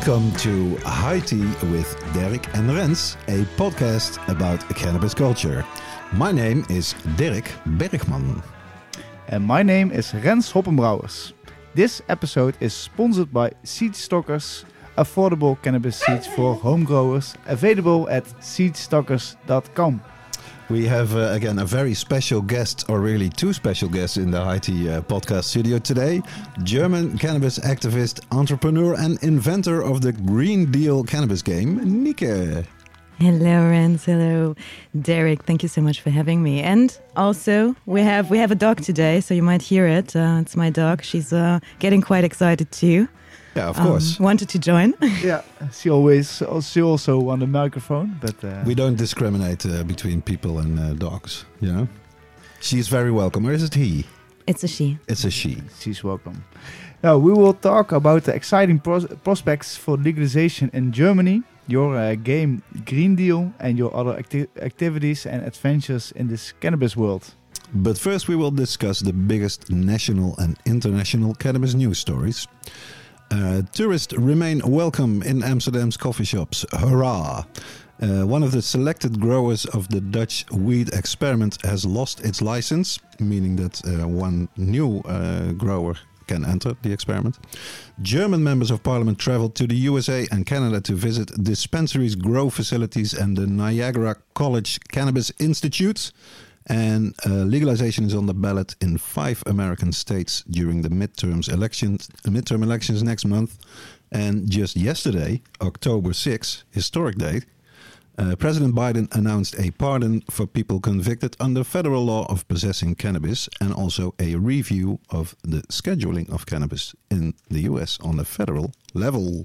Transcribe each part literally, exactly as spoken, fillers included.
Welcome to High Tea with Dirk and Rens, a podcast about cannabis culture. My name is Dirk Bergman. And my name is Rens Hoppenbrouwers. This episode is sponsored by Seed Stockers, affordable cannabis seeds for home growers, available at seed stockers dot com. We have, uh, again, a very special guest, or really two special guests in the High Tea uh, podcast studio today. German cannabis activist, entrepreneur and inventor of the Green Deal cannabis game, Nike. Hello, Rens. Hello, Derek. Thank you so much for having me. And also, we have we have a dog today, so you might hear it. Uh, it's my dog. She's uh, getting quite excited too. Yeah, of course. Um, wanted to join. Yeah, she always, she also on the microphone, but uh, we don't discriminate uh, between people and uh, dogs, you know. She's very welcome. Or is it he? It's a she. It's a she. She's welcome. Now, we will talk about the exciting pros- prospects for legalization in Germany, your uh, game Green Deal, and your other acti- activities and adventures in this cannabis world. But first we will discuss the biggest national and international cannabis news stories. Uh, tourists remain welcome in Amsterdam's coffee shops. Hurrah! Uh, one of the selected growers of the Dutch weed experiment has lost its license, meaning that uh, one new uh, grower can enter the experiment. German members of parliament traveled to the U S A and Canada to visit dispensaries, grow facilities and the Niagara College Cannabis Institute. And uh, legalization is on the ballot in five American states during the midterms elections, midterm elections next month. And just yesterday, October sixth, historic date, uh, President Biden announced a pardon for people convicted under federal law of possessing cannabis and also a review of the scheduling of cannabis in the U S on a federal level.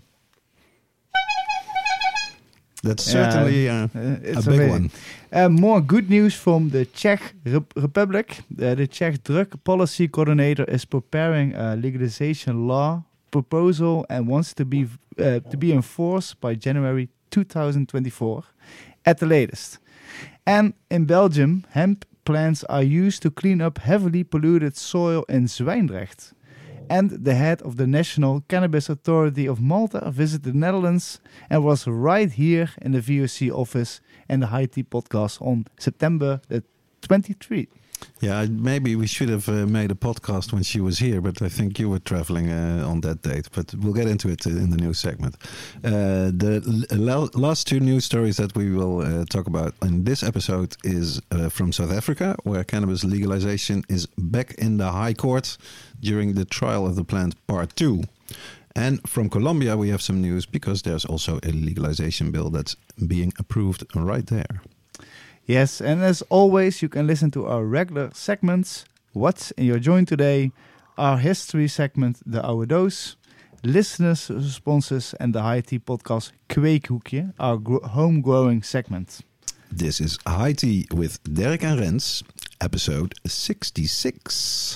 That's certainly uh, uh, it's a big amazing. one. Uh, more good news from the Czech Rep- Republic. Uh, the Czech drug policy coordinator is preparing a legalization law proposal and wants to be uh, to be enforced by January twenty twenty-four at the latest. And in Belgium, hemp plants are used to clean up heavily polluted soil in Zwijndrecht. And the head of the National Cannabis Authority of Malta visited the Netherlands and was right here in the V O C office and the High Tea podcast on September the twenty-third. Yeah, maybe we should have uh, made a podcast when she was here, but I think you were traveling uh, on that date. But we'll get into it in the news segment. Uh, the l- last two news stories that we will uh, talk about in this episode is uh, from South Africa, where cannabis legalization is back in the High Court during the trial of the plant Part two. And from Colombia, we have some news because there's also a legalization bill that's being approved right there. Yes, and as always, you can listen to our regular segments, What's in Your Joint Today, our history segment, The Oude Doos, listeners' responses, and the High Tea podcast Kweekhoekje, our gro- home-growing segment. This is High Tea with Dirk and Rens, episode sixty-six.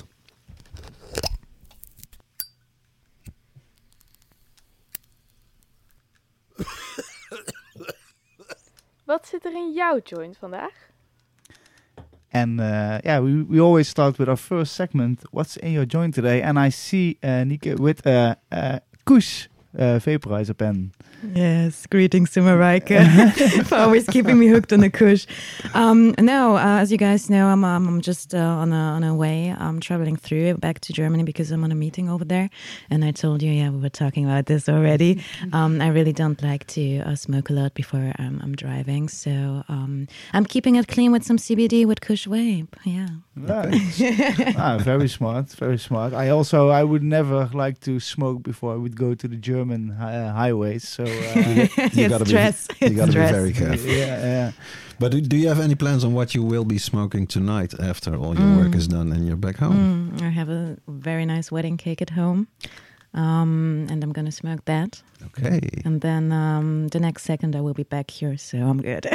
Wat zit er in jouw joint vandaag? And uh, yeah, we, we always start with our first segment, What's in Your Joint Today? And I see uh, Nike with a uh, uh, Kush uh, vaporizer pen. Yes, greetings to Marijke for always keeping me hooked on the kush. Um, no, uh, as you guys know, I'm um, I'm just uh, on a on a way. I'm traveling through back to Germany because I'm on a meeting over there. And I told you, yeah, we were talking about this already. Um, I really don't like to uh, smoke a lot before um, I'm driving, so um, I'm keeping it clean with some C B D with Kush Vape. Yeah. Nice. ah, very smart, very smart. I also I would never like to smoke before I would go to the German uh, highways. So. Uh, you gotta stress. be, you gotta stress. be very careful. Yeah, yeah. But do, do you have any plans on what you will be smoking tonight after all your Mm. work is done and you're back home? Mm, I have a very nice wedding cake at home, um, and I'm gonna smoke that. Okay. And then um, the next second I will be back here, so I'm good.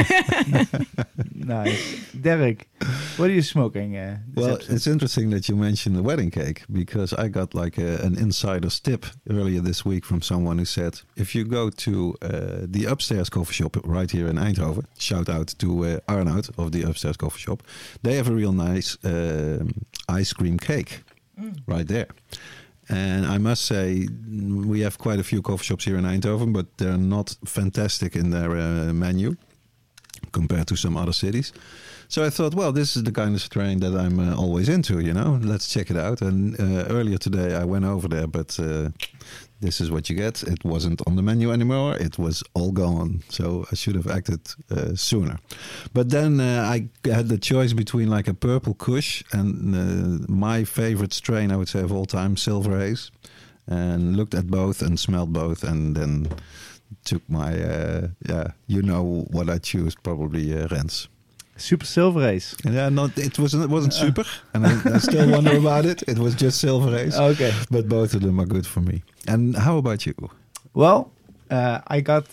Nice. Derek, what are you smoking? Uh, this Well, episode? it's interesting that you mentioned the wedding cake because I got like a, an insider's tip earlier this week from someone who said, if you go to uh, the Upstairs coffee shop right here in Eindhoven, shout out to uh, Arnoud of the Upstairs coffee shop, they have a real nice um ice cream cake mm. right there. And I must say, we have quite a few coffee shops here in Eindhoven, but they're not fantastic in their uh, menu compared to some other cities. So I thought, well, this is the kind of strain that I'm uh, always into, you know. Let's check it out. And uh, earlier today I went over there, but uh, this is what you get. It wasn't on the menu anymore. It was all gone. So I should have acted uh, sooner. But then uh, I had the choice between like a purple kush and uh, my favorite strain, I would say, of all time, Silver Haze. And looked at both and smelled both and then took my, uh, yeah, you know what I choose, probably uh, Rens. Super Silver Haze. Yeah, not it wasn't it wasn't super, and I, I still wonder about it. It was just Silver Haze. Okay, but both of them are good for me. And how about you? Well, uh, I got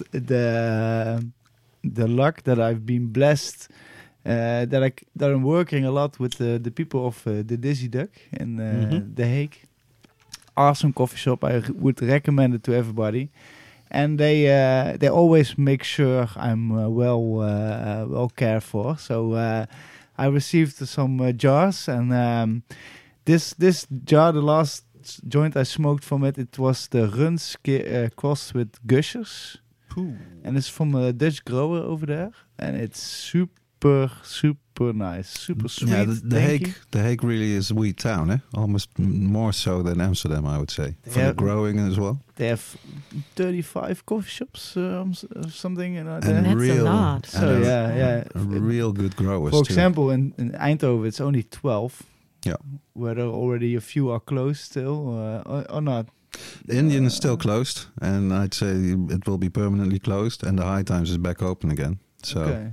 the the luck that I've been blessed uh, that I that I'm working a lot with the the people of uh, the Dizzy Duck in uh, Mm-hmm. The Hague. Awesome coffee shop. I r- would recommend it to everybody. And they uh, they always make sure I'm uh, well uh, well cared for. So uh, I received some uh, jars, and um, this this jar, the last joint I smoked from it, it was the Runs uh, crossed with Gushers, and it's from a Dutch grower over there, and it's super super nice, super sweet. Yeah, the, the tanky. Hague, the Hague really is a wheat town, eh? Almost m- more so than Amsterdam, I would say, for Yeah. the growing as well. They have thirty-five coffee shops, um, s- uh, something, you know. And there. That's a real, lot. So, and a- yeah, yeah. a real good growers. For too. example, in, in Eindhoven, it's only twelve. Yeah. Whether already a few are closed still uh, or, or not. The Indian is still closed, and I'd say it will be permanently closed, and the High Times is back open again. So. Okay.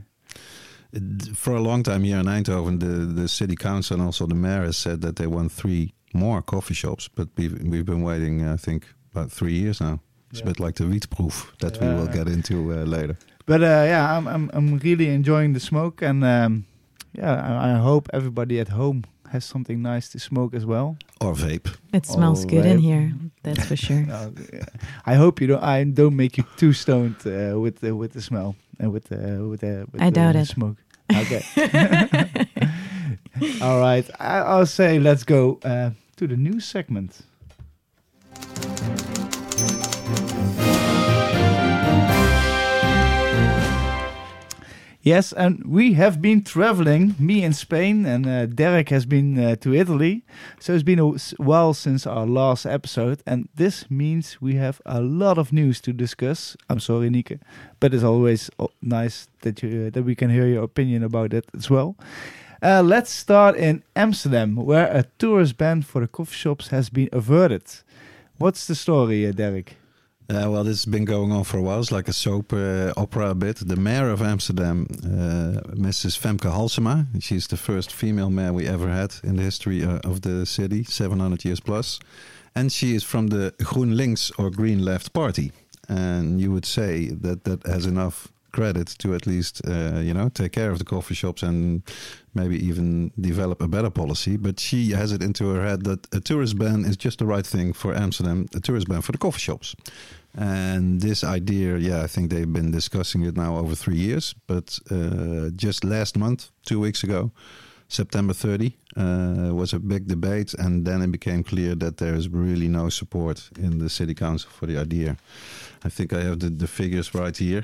It- For a long time here in Eindhoven, the, the city council and also the mayor has said that they want three more coffee shops, but we've, we've been waiting, I think, about three years now. It's Yeah. a bit like the Wietproef that we Yeah. will get into uh, later. But uh, yeah, I'm, I'm I'm really enjoying the smoke, and um, yeah, I, I hope everybody at home has something nice to smoke as well. Or vape. It smells Oh, good in right. here. That's for sure. Uh, I hope you don't. I don't make you too stoned uh, with the with the smell and with the with the. With I the doubt it. Smoke. Okay. All right. I, I'll say let's go uh, to the news segment. Yes, and we have been traveling, me in Spain, and uh, Derek has been uh, to Italy. So it's been a s- while since our last episode, and this means we have a lot of news to discuss. I'm sorry, Nieke, but it's always o- nice that you uh, that we can hear your opinion about it as well. Uh, let's start in Amsterdam, where a tourist ban for the coffee shops has been averted. What's the story, uh, Derek? Uh, well, this has been going on for a while. It's like a soap uh, opera a bit. The mayor of Amsterdam, uh, Missus Femke Halsema, she's the first female mayor we ever had in the history uh, of the city, seven hundred years plus. And she is from the GroenLinks or Green Left Party. And you would say that that has enough credit to at least, uh, you know, take care of the coffee shops and maybe even develop a better policy. But she has it into her head that a tourist ban is just the right thing for Amsterdam, a tourist ban for the coffee shops. And this idea, yeah, I think they've been discussing it now over three years. But uh, just last month, two weeks ago, September thirtieth, uh, was a big debate. And then it became clear that there is really no support in the city council for the idea. I think I have the, the figures right here.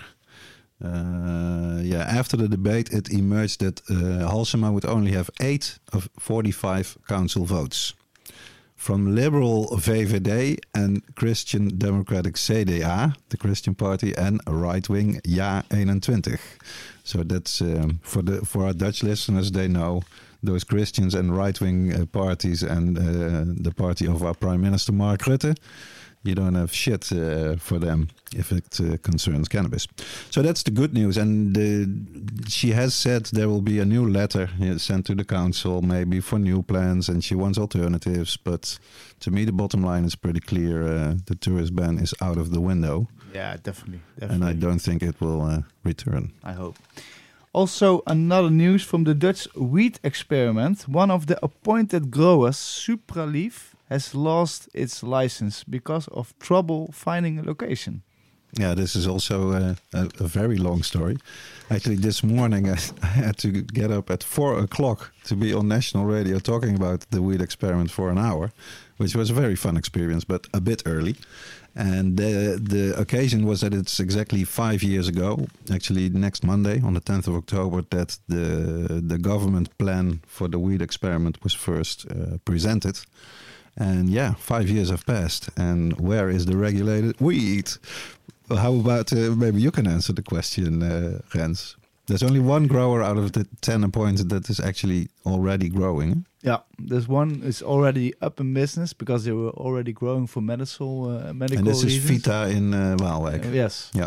Uh, yeah, after the debate, it emerged that uh, Halsema would only have eight of forty-five council votes. From liberal V V D and Christian Democratic C D A, the Christian Party, and right-wing Ja twenty-one. So that's um, for the for our Dutch listeners, they know those Christians and right-wing uh, parties and uh, the party of our Prime Minister Mark Rutte. You don't have shit uh, for them if it uh, concerns cannabis. So that's the good news. And uh, she has said there will be a new letter uh, sent to the council, maybe for new plans, and she wants alternatives. But to me, the bottom line is pretty clear. Uh, the tourist ban is out of the window. Yeah, definitely. And I don't think it will uh, return. I hope. Also, another news from the Dutch wheat experiment. One of the appointed growers, Supraleaf, has lost its license because of trouble finding a location. Yeah, this is also uh, a, a very long story. Actually, this morning I, I had to get up at four o'clock to be on national radio talking about the wheat experiment for an hour, which was a very fun experience, but a bit early. And the the occasion was that it's exactly five years ago, actually next Monday on the tenth of October, that the the government plan for the weed experiment was first uh, presented. And yeah, five years have passed. And where is the regulated weed? Well, how about uh, maybe you can answer the question, uh, Rens? There's only one grower out of the ten appointed that is actually already growing. Yeah, this one is already up in business because they were already growing for medical uh, medical And this reasons. is Vita in uh, Waalwijk. Uh, yes. Yeah.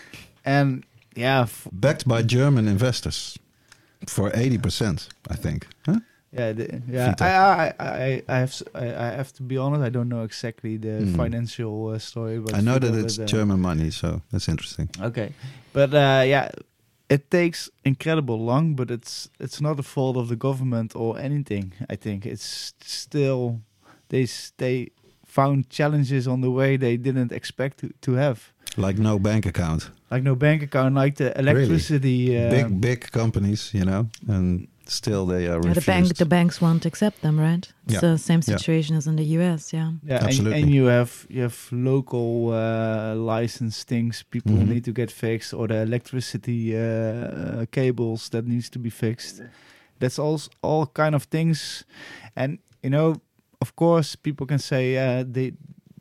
And yeah, f- Backed by German investors for eighty percent, I think. Huh? yeah, the, yeah. Vita. I, I, I, I have, s- I, I have to be honest. I don't know exactly the Mm. financial uh, story, but I know Vita, that it's but, uh, German money, so that's interesting. Okay, but uh, yeah, it takes incredible long, but it's it's not the fault of the government or anything. I think it's still they s- they found challenges on the way they didn't expect to, to have, Like no bank account. like no bank account, like the electricity. Uh, big, big companies, you know, and still they are Yeah, refused. the bank, the banks won't accept them, right? It's Yeah. the same Yeah. situation as in the U S. Yeah. Yeah, and, Absolutely. and you have you have local uh, license things people Mhm. need to get fixed, or the electricity uh, uh, cables that needs to be fixed. That's all s- all kind of things, and you know, of course, people can say, uh, they,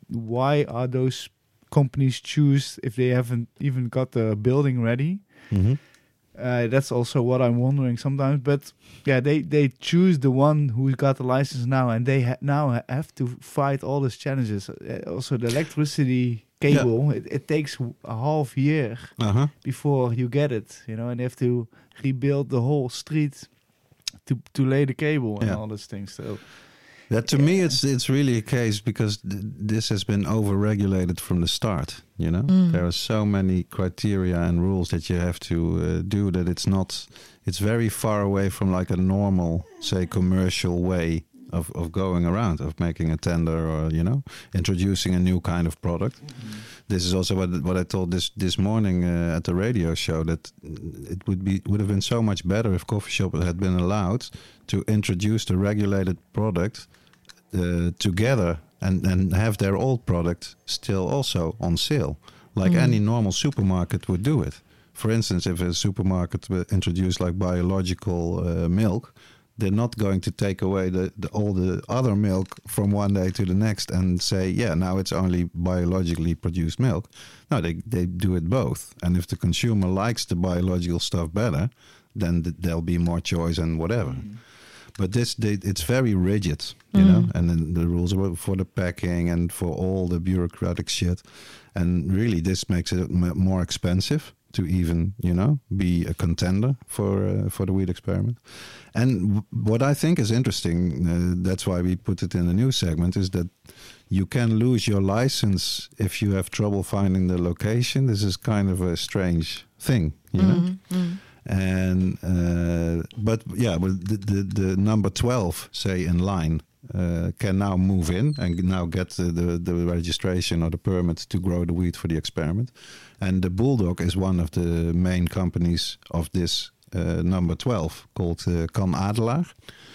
why are those companies choose if they haven't even got the building ready? Mhm. Uh, that's also what I'm wondering sometimes. But yeah, they, they choose the one who got the license now, and they ha- now ha- have to fight all these challenges. Uh, also, the electricity cable, it, it takes w- a half year Uh-huh. before you get it, you know, and they have to rebuild the whole street to to lay the cable and Yeah. all those things. So That to me, it's it's really a case because th- this has been over-regulated from the start. You know, Mm. there are so many criteria and rules that you have to uh, do that it's not. It's very far away from like a normal, say, commercial way of of going around, of making a tender or you know, introducing a new kind of product. This is also what what I told this this morning uh, at the radio show, that it would be would have been so much better if coffee shops had been allowed to introduce the regulated product uh, together and, and have their old product still also on sale, like Mm. any normal supermarket would do it. For instance, if a supermarket will introduce like biological uh, milk, they're not going to take away the, the all the other milk from one day to the next and say, yeah, now it's only biologically produced milk. No, they, they do it both. And if the consumer likes the biological stuff better, then th- there'll be more choice and whatever. But this, they, it's very rigid, you Mm. know, and then the rules are for the packing and for all the bureaucratic shit. And really, this makes it m- more expensive to even, you know, be a contender for uh, for the weed experiment. And w- what I think is interesting, uh, that's why we put it in the news segment, is that you can lose your license if you have trouble finding the location. This is kind of a strange thing, you know. Mm, mm. And uh, but yeah, well, the, the the number twelve, say in line, uh, can now move in and now get the, the the registration or the permit to grow the weed for the experiment. And the Bulldog is one of the main companies of this uh, number twelve, called uh, Kan Adelaar.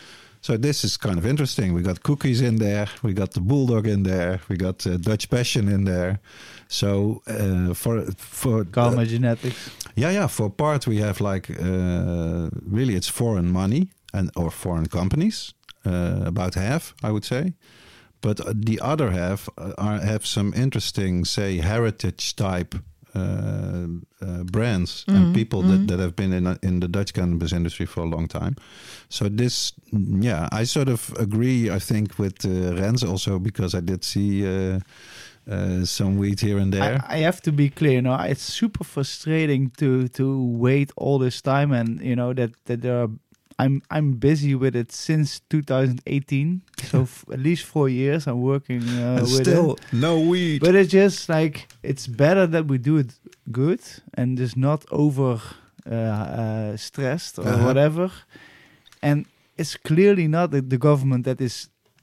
So this is kind of interesting. We got Cookies in there, we got the Bulldog in there, we got uh, Dutch Passion in there. So uh, for for Karma uh, Genetics. yeah, yeah. For part, we have like uh, really it's foreign money and or foreign companies, uh, about half, I would say. But uh, the other half uh, are, have some interesting, say, heritage type uh, uh, brands Mhm, and people mhm. that, that have been in in the Dutch cannabis industry for a long time. So this, yeah, I sort of agree. I think with uh, Rens also because I did see. Uh, Uh, some weed here and there. I, I have to be clear, you know, it's super frustrating to to wait all this time, and you know that that there are. I'm I'm busy with it since two thousand eighteen, so f- at least four years I'm working uh, and with still it. no weed. But it's just like it's better that we do it good and just not over uh, uh, stressed or Uh-huh. whatever. And it's clearly not the, the government that is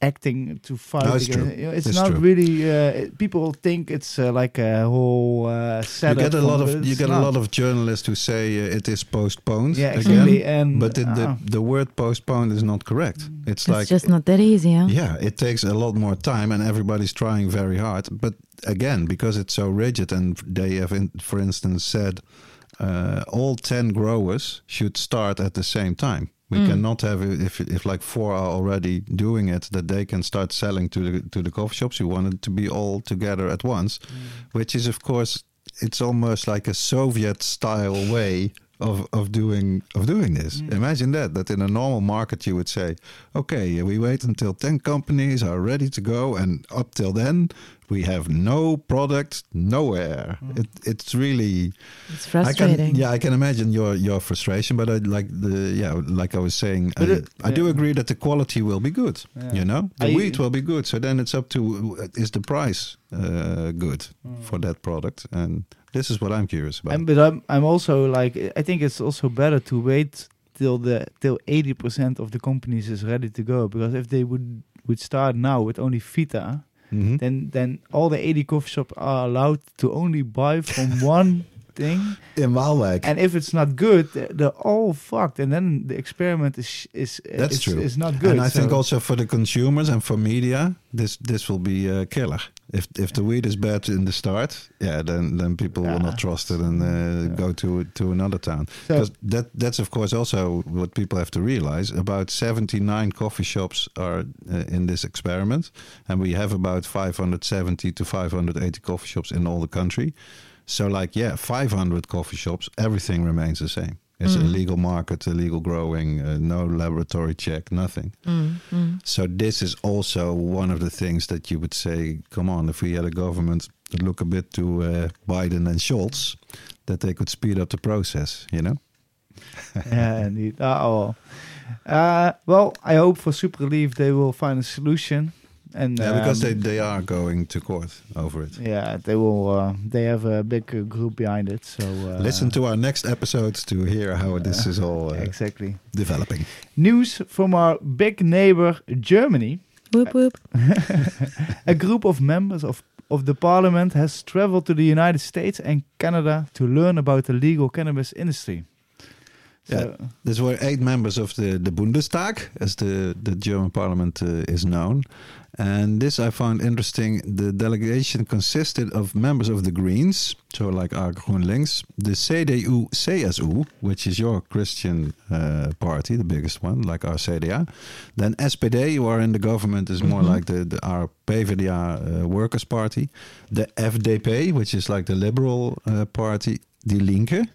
acting to fight. No, it's against, true. You know, it's, It's not true. really. Uh, it- people think it's uh, like a whole uh, You setup. get a lot from- of but you it's get not. a lot of journalists who say uh, it is postponed. Yeah, again, exactly. And but the, the uh, the word postponed is not correct. It's, It's like just not that easy, huh? yeah, it takes a lot more time, and everybody's trying very hard. But again, because it's so rigid, and they have, in, for instance, said uh, all ten growers should start at the same time. We Mm. cannot have it if if like four are already doing it, that they can start selling to the to the coffee shops. We want it to be all together at once, which is of course it's almost like a Soviet style way of of doing of doing this. Mm. Imagine that that in a normal market you would say, okay, we wait until ten companies are ready to go, and up till then we have no product nowhere. Mm. It it's really It's I frustrating. can, yeah, I can imagine your your frustration, but I like the yeah, like I was saying, But I, it- I do yeah. agree that the quality will be good. Yeah. You know, the I- wheat will be good. So then it's up to uh, is the price uh, good for that product, and this is what I'm curious about. And, but I'm I'm also like I think it's also better to wait till the till eighty percent of the companies is ready to go, because if they would would start now with only Vita, Mhm. then then all the eighty coffee shops are allowed to only buy from one thing, In Waalwijk, and if it's not good, they're, they're all fucked, and then the experiment is is That's is, true. is not good. and I think so- also for the consumers and for media, this this will be a killer. If if the wheat is bad in the start, yeah, then then people will Yeah. not trust it and uh, Yeah. go to to another town. So- Because that that's of course also what people have to realize. About seventy-nine coffee shops are uh, in this experiment, and we have about five hundred seventy to five hundred eighty coffee shops in all the country. So like yeah, five hundred coffee shops, everything remains the same. It's Mm. a legal market, a legal growing, uh, no laboratory check, nothing. Mm, mm. So this is also one of the things that you would say, come on, if we had a government that look a bit to uh, Biden and Scholz, that they could speed up the process, you know? yeah, indeed. Uh, oh. Uh, well, I hope for Super Relief they will find a solution, and Yeah, because um, they, they are going to court over it. yeah, they will. Uh, they have a big uh, group behind it. So uh, Listen to our next episodes to hear how this is all uh, exactly. developing. News from our big neighbor Germany. Whoop whoop. A group of members of of the parliament has traveled to the United States and Canada to learn about the legal cannabis industry. So, Yeah. These were eight members of the, the Bundestag, as the, the German parliament uh, is known. And this I found interesting. The delegation consisted of members of the Greens, so like our GroenLinks, the C D U C S U, which is your Christian uh, party, the biggest one, like our C D A. Then S P D, who are in the government, is more Mhm. like the, the our P V D A uh, Workers' Party. The F D P, which is like the Liberal uh, Party, Die Linke.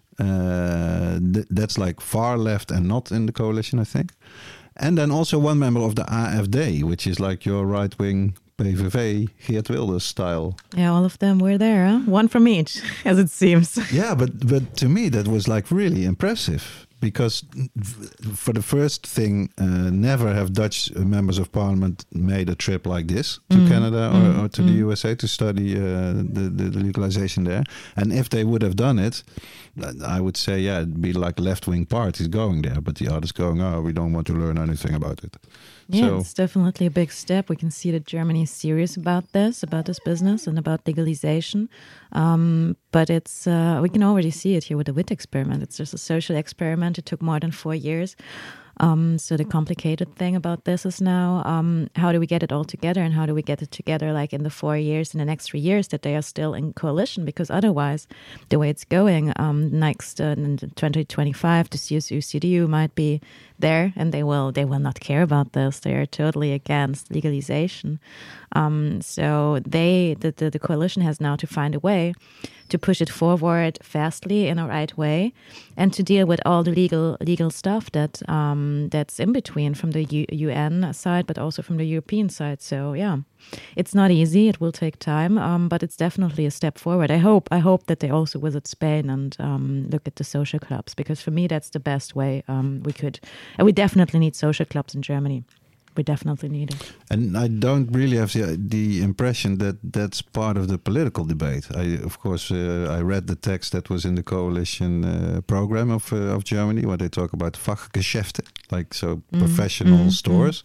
Uh, th- that's like far left and not in the coalition, I think. And then also one member of the A F D, which is like your right-wing P V V, Geert Wilders style. Yeah, all of them were there, huh? One from each, as it seems. Yeah, but but to me that was like really impressive, because for the first thing, uh, never have Dutch members of parliament made a trip like this to Mm, Canada or, mm, or to mm. the U S A to study uh, the, the, the legalization there. And if they would have done it, I would say, yeah, it'd be like left-wing parties going there, but the others going, oh, we don't want to learn anything about it. Yeah, So- it's definitely a big step. We can see that Germany is serious about this, about this business, and about legalization. Um, but it's uh, we can already see it here with the W I T experiment. It's just a social experiment. It took more than four years. Um, so the complicated thing about this is now um, how do we get it all together, and how do we get it together like in the four years, in the next three years that they are still in coalition, because otherwise the way it's going um, next uh, in twenty twenty-five, the C S U C D U might be there, and they will they will not care about this. They are totally against legalization. Um, so they the, the the coalition has now to find a way to push it forward fastly in a right way, and to deal with all the legal legal stuff that um, that's in between from the U- UN side, but also from the European side. So yeah, it's not easy. It will take time, um, but it's definitely a step forward. I hope I hope that they also visit Spain and um, look at the social clubs, because for me that's the best way um, we could. And we definitely need social clubs in Germany. We definitely need it. And I don't really have the, the impression that that's part of the political debate. I, of course, uh, I read the text that was in the coalition uh, program of uh, of Germany, where they talk about Fachgeschäfte, like so Mm, professional mm, stores.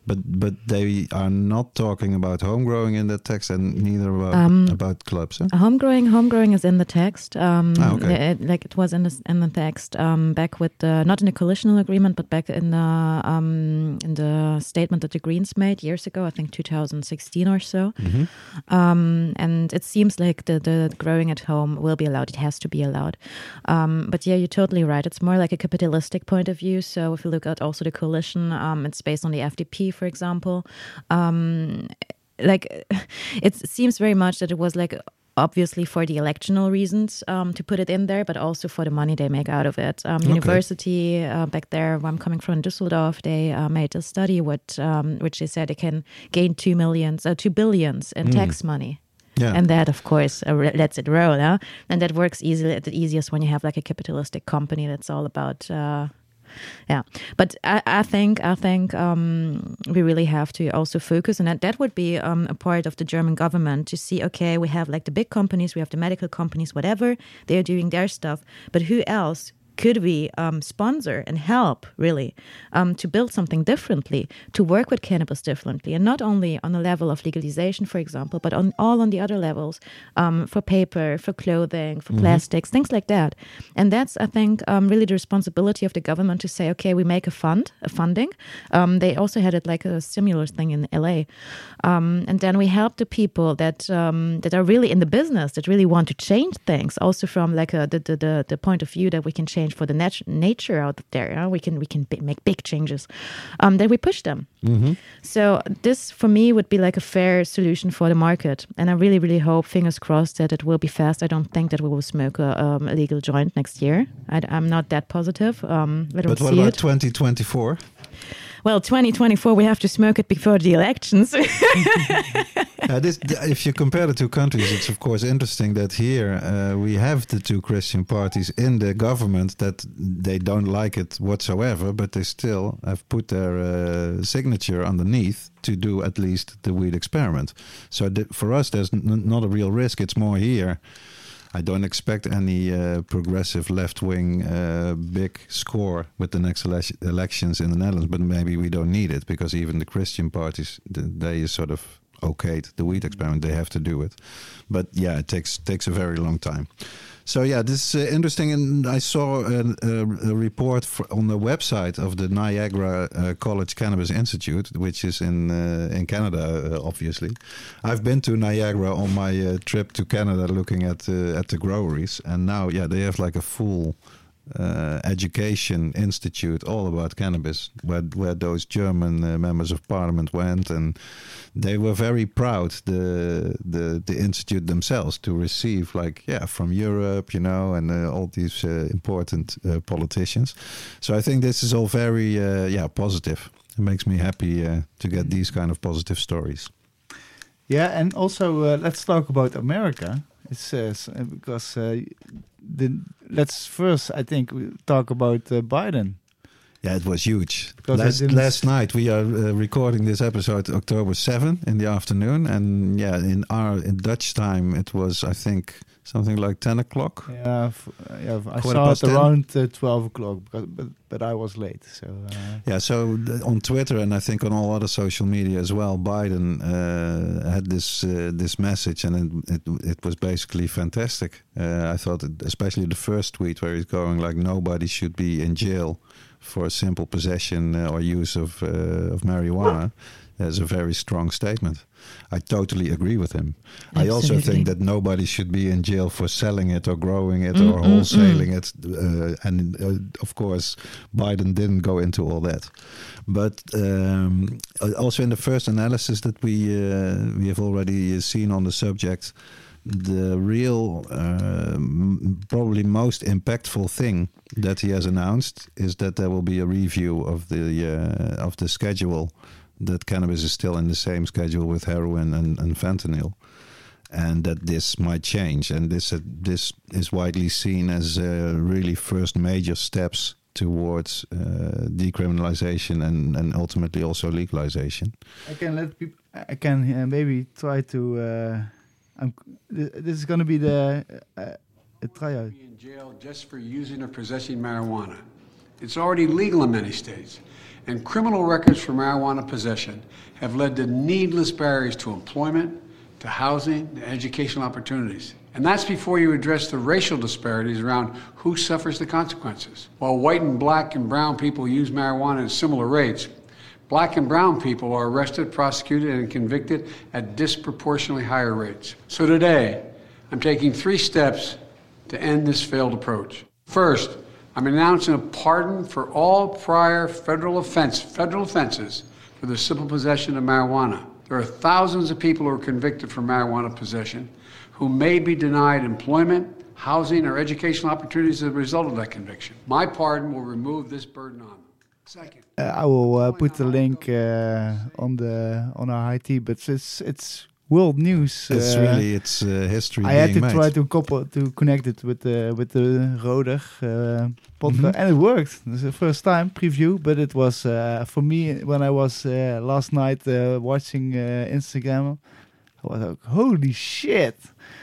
But but they are not talking about home growing in that text, and neither about Um, about clubs. Huh? Home growing, home growing is in the text. Um, Ah, okay. it- like it was in the in the text um, back with the not in the coalitional agreement, but back in the um, in the statement that the Greens made years ago. I think two thousand sixteen or so. Mhm. Um, and it seems like the the growing at home will be allowed. It has to be allowed. Um, but yeah, you're totally right. It's more like a capitalistic point of view. So if you look at also the coalition, um, it's based on the F D P, for example. Um, like it seems very much that it was like obviously for the electional reasons um, to put it in there, but also for the money they make out of it. Um, Okay. University uh, back there, where I'm coming from in Düsseldorf, they uh, made a study with, um, which they said they can gain two millions, uh, two billions in Mm. tax money. Yeah. And that, of course, uh, re- lets it roll. Huh? And that works easily, the easiest when you have like a capitalistic company that's all about, uh, yeah. But I, I think, I think um, we really have to also focus, and that that would be um, a part of the German government to see. Okay, we have like the big companies, we have the medical companies, whatever they're doing their stuff, but who else could we um, sponsor and help really um, to build something differently, to work with cannabis differently, and not only on the level of legalization, for example, but on all on the other levels, um, for paper, for clothing, for Mhm. plastics, things like that. And that's, I think, um, really the responsibility of the government to say, okay, we make a fund, a funding. Um, they also had it like a stimulus thing in L A. Um, and then we help the people that um, that are really in the business, that really want to change things, also from like a, the, the, the, the point of view that we can change for the nat- nature out there. Yeah? We can we can b- make big changes. Um, that we push them. Mhm. So this, for me, would be like a fair solution for the market. And I really, really hope, fingers crossed, that it will be fast. I don't think that we will smoke a, um, a legal joint next year. I, am not that positive. Um, I don't But what see about it. twenty twenty-four? Well, twenty twenty-four, we have to smoke it before the elections. Uh, this, if you compare the two countries, it's of course interesting that here uh, we have the two Christian parties in the government that they don't like it whatsoever, but they still have put their uh, signature underneath to do at least the weed experiment. So th- for us, there's n- not a real risk. It's more here. I don't expect any uh, progressive left-wing uh, big score with the next ele- elections in the Netherlands, but maybe we don't need it because even the Christian parties, th- they sort of okayed the weed experiment. They have to do it. But yeah, it takes takes a very long time. So yeah, this is uh, interesting. And I saw a, a, a report for, on the website of the Niagara uh, College Cannabis Institute, which is in uh, in Canada, uh, obviously. I've been to Niagara on my uh, trip to Canada, looking at uh, at the groweries, and now yeah, they have like a full uh, education institute all about cannabis, where where those German uh, members of parliament went, and they were very proud, the the the institute themselves, to receive like yeah from Europe, you know, and uh, all these uh, important uh, politicians. So I think this is all very uh, yeah positive. It makes me happy uh, to get these kind of positive stories. Yeah, and also uh, let's talk about America. It says uh, because uh, the let's first I think we talk about uh, Biden. Yeah, it was huge. Because I Last, didn't last night we are uh, recording this episode October seventh in the afternoon, and yeah, in our in Dutch time it was I think something like ten o'clock. Yeah, f- uh, yeah. I Quarter saw past it ten? around uh, twelve o'clock, because, but but I was late. So uh, Yeah, so th- on Twitter and I think on all other social media as well, Biden uh, had this uh, this message, and it, it it was basically fantastic. Uh, I thought, it, especially the first tweet where he's going like, nobody should be in jail for a simple possession uh, or use of uh, of marijuana. Is a very strong statement. I totally agree with him. I also Absolutely. think that nobody should be in jail for selling it or growing it Mm, or mm, wholesaling it. Uh, and uh, of course, Biden didn't go into all that. But um, also in the first analysis that we uh, we have already seen on the subject, the real, uh, m- probably most impactful thing that he has announced is that there will be a review of the uh, of the schedule. That cannabis is still in the same schedule with heroin and, and fentanyl, and that this might change. And this uh, this is widely seen as uh, really first major steps towards uh, decriminalization and, and ultimately also legalization. I can let people. I can uh, maybe try to. Uh, I'm, th- this is going to be the uh, a tryout. Be in jail just for using or possessing marijuana. It's already legal in many states, and criminal records for marijuana possession have led to needless barriers to employment, to housing, to educational opportunities. And that's before you address the racial disparities around who suffers the consequences. While white and black and brown people use marijuana at similar rates, black and brown people are arrested, prosecuted, and convicted at disproportionately higher rates. So today, I'm taking three steps to end this failed approach. First, I'm announcing a pardon for all prior federal offense, federal offenses for the simple possession of marijuana. There are thousands of people who are convicted for marijuana possession who may be denied employment, housing, or educational opportunities as a result of that conviction. My pardon will remove this burden on them. Second, Uh, I will uh, put the link uh, on the on our I T, but it's it's world news. It's uh, really it's uh, history I being had to made. try to couple to connect it with the with the Roder uh, podcast, Mhm. and it worked. It's the first time preview, but it was uh, for me when I was uh, last night uh, watching uh, Instagram. I was like, holy shit!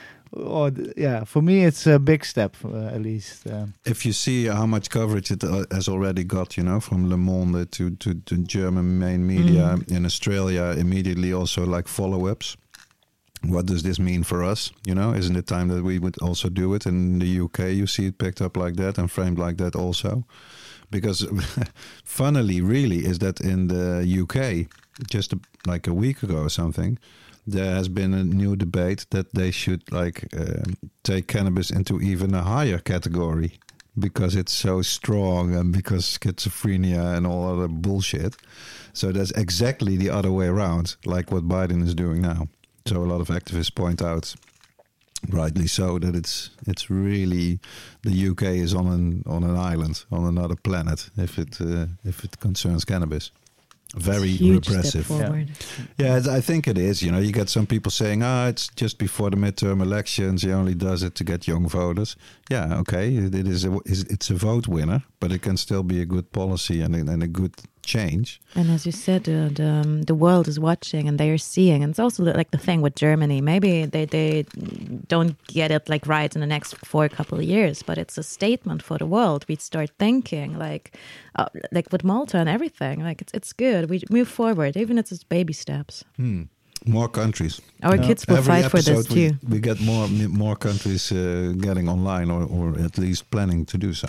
Oh, th- yeah. For me, it's a big step, uh, at least. Um, If you see how much coverage it uh, has already got, you know, from Le Monde to, to, to German main media Mm. in Australia, immediately also like follow-ups. What does this mean for us? You know, isn't it time that we would also do it? In the U K, you see it picked up like that and framed like that also. Because funnily, really, is that in the U K, just a, like a week ago or something, there has been a new debate that they should like um take cannabis into even a higher category because it's so strong and because schizophrenia and all other bullshit. So that's exactly the other way around, like what Biden is doing now. So a lot of activists point out, rightly so, that it's it's really the U K is on an on an island, on another planet, if it uh, if it concerns cannabis. Very Huge repressive. step forward. Yeah, it's- I think it is. You know, you get some people saying, "Ah, it's just before the midterm elections. He only does it to get young voters." Yeah, okay, it, it is. A, is- it's a vote winner, but it can still be a good policy and a, and a good change. And as you said, uh, the um, the world is watching and they are seeing. And it's also like the thing with Germany. Maybe they, they don't get it like right in the next four couple of years, but it's a statement for the world. We start thinking like, uh, like with Malta and everything. Like it's it's good. We move forward, even if it's baby steps. Hmm. More countries. Our Yeah. kids will Every fight for this episode we, too. we get more more countries uh, getting online, or, or at least planning to do so.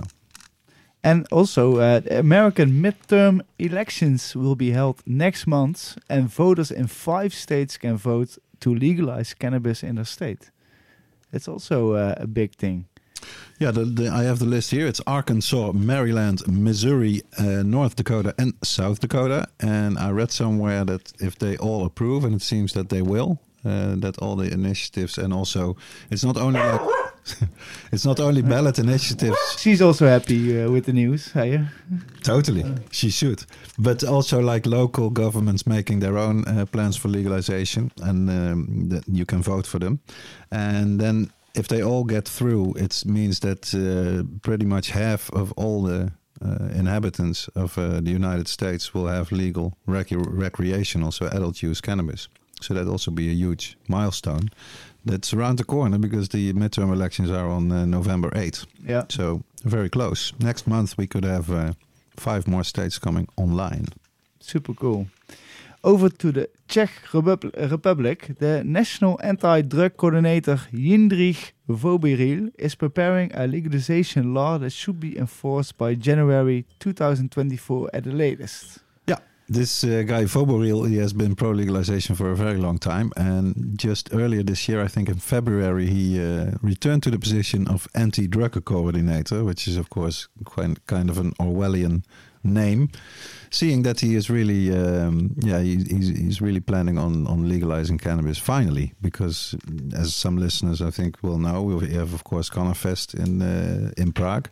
And also, uh, the American midterm elections will be held next month, and voters in five states can vote to legalize cannabis in their state. It's also uh, a big thing. Yeah, the, the, I have the list here. It's Arkansas, Maryland, Missouri, uh, North Dakota, and South Dakota. And I read somewhere that if they all approve, and it seems that they will, uh, that all the initiatives, and also it's not only like it's not only ballot initiatives. She's also happy uh, with the news. Hey? Totally, she should. But also like local governments making their own uh, plans for legalization, and um, that you can vote for them. And then if they all get through, it means that uh, pretty much half of all the uh, inhabitants of uh, the United States will have legal rec- recreational, so adult use cannabis. So that'd also be a huge milestone. That's around the corner because the midterm elections are on uh, November eighth. Yeah. So very close. Next month we could have uh, five more states coming online. Super cool. Over to the Czech Repub- Republic, the National Anti-Drug Coordinator Jindřich Voboril is preparing a legalization law that should be enforced by January twenty twenty-four at the latest. This uh, guy Voboril, he has been pro-legalization for a very long time. And just earlier this year, I think in February, he uh, returned to the position of anti-drug coordinator, which is, of course, quite, kind of an Orwellian name. Seeing that he is really, um, yeah, he, he's, he's really planning on, on legalizing cannabis finally. Because as some listeners, I think, will know, we have, of course, Cannafest in, uh, in Prague.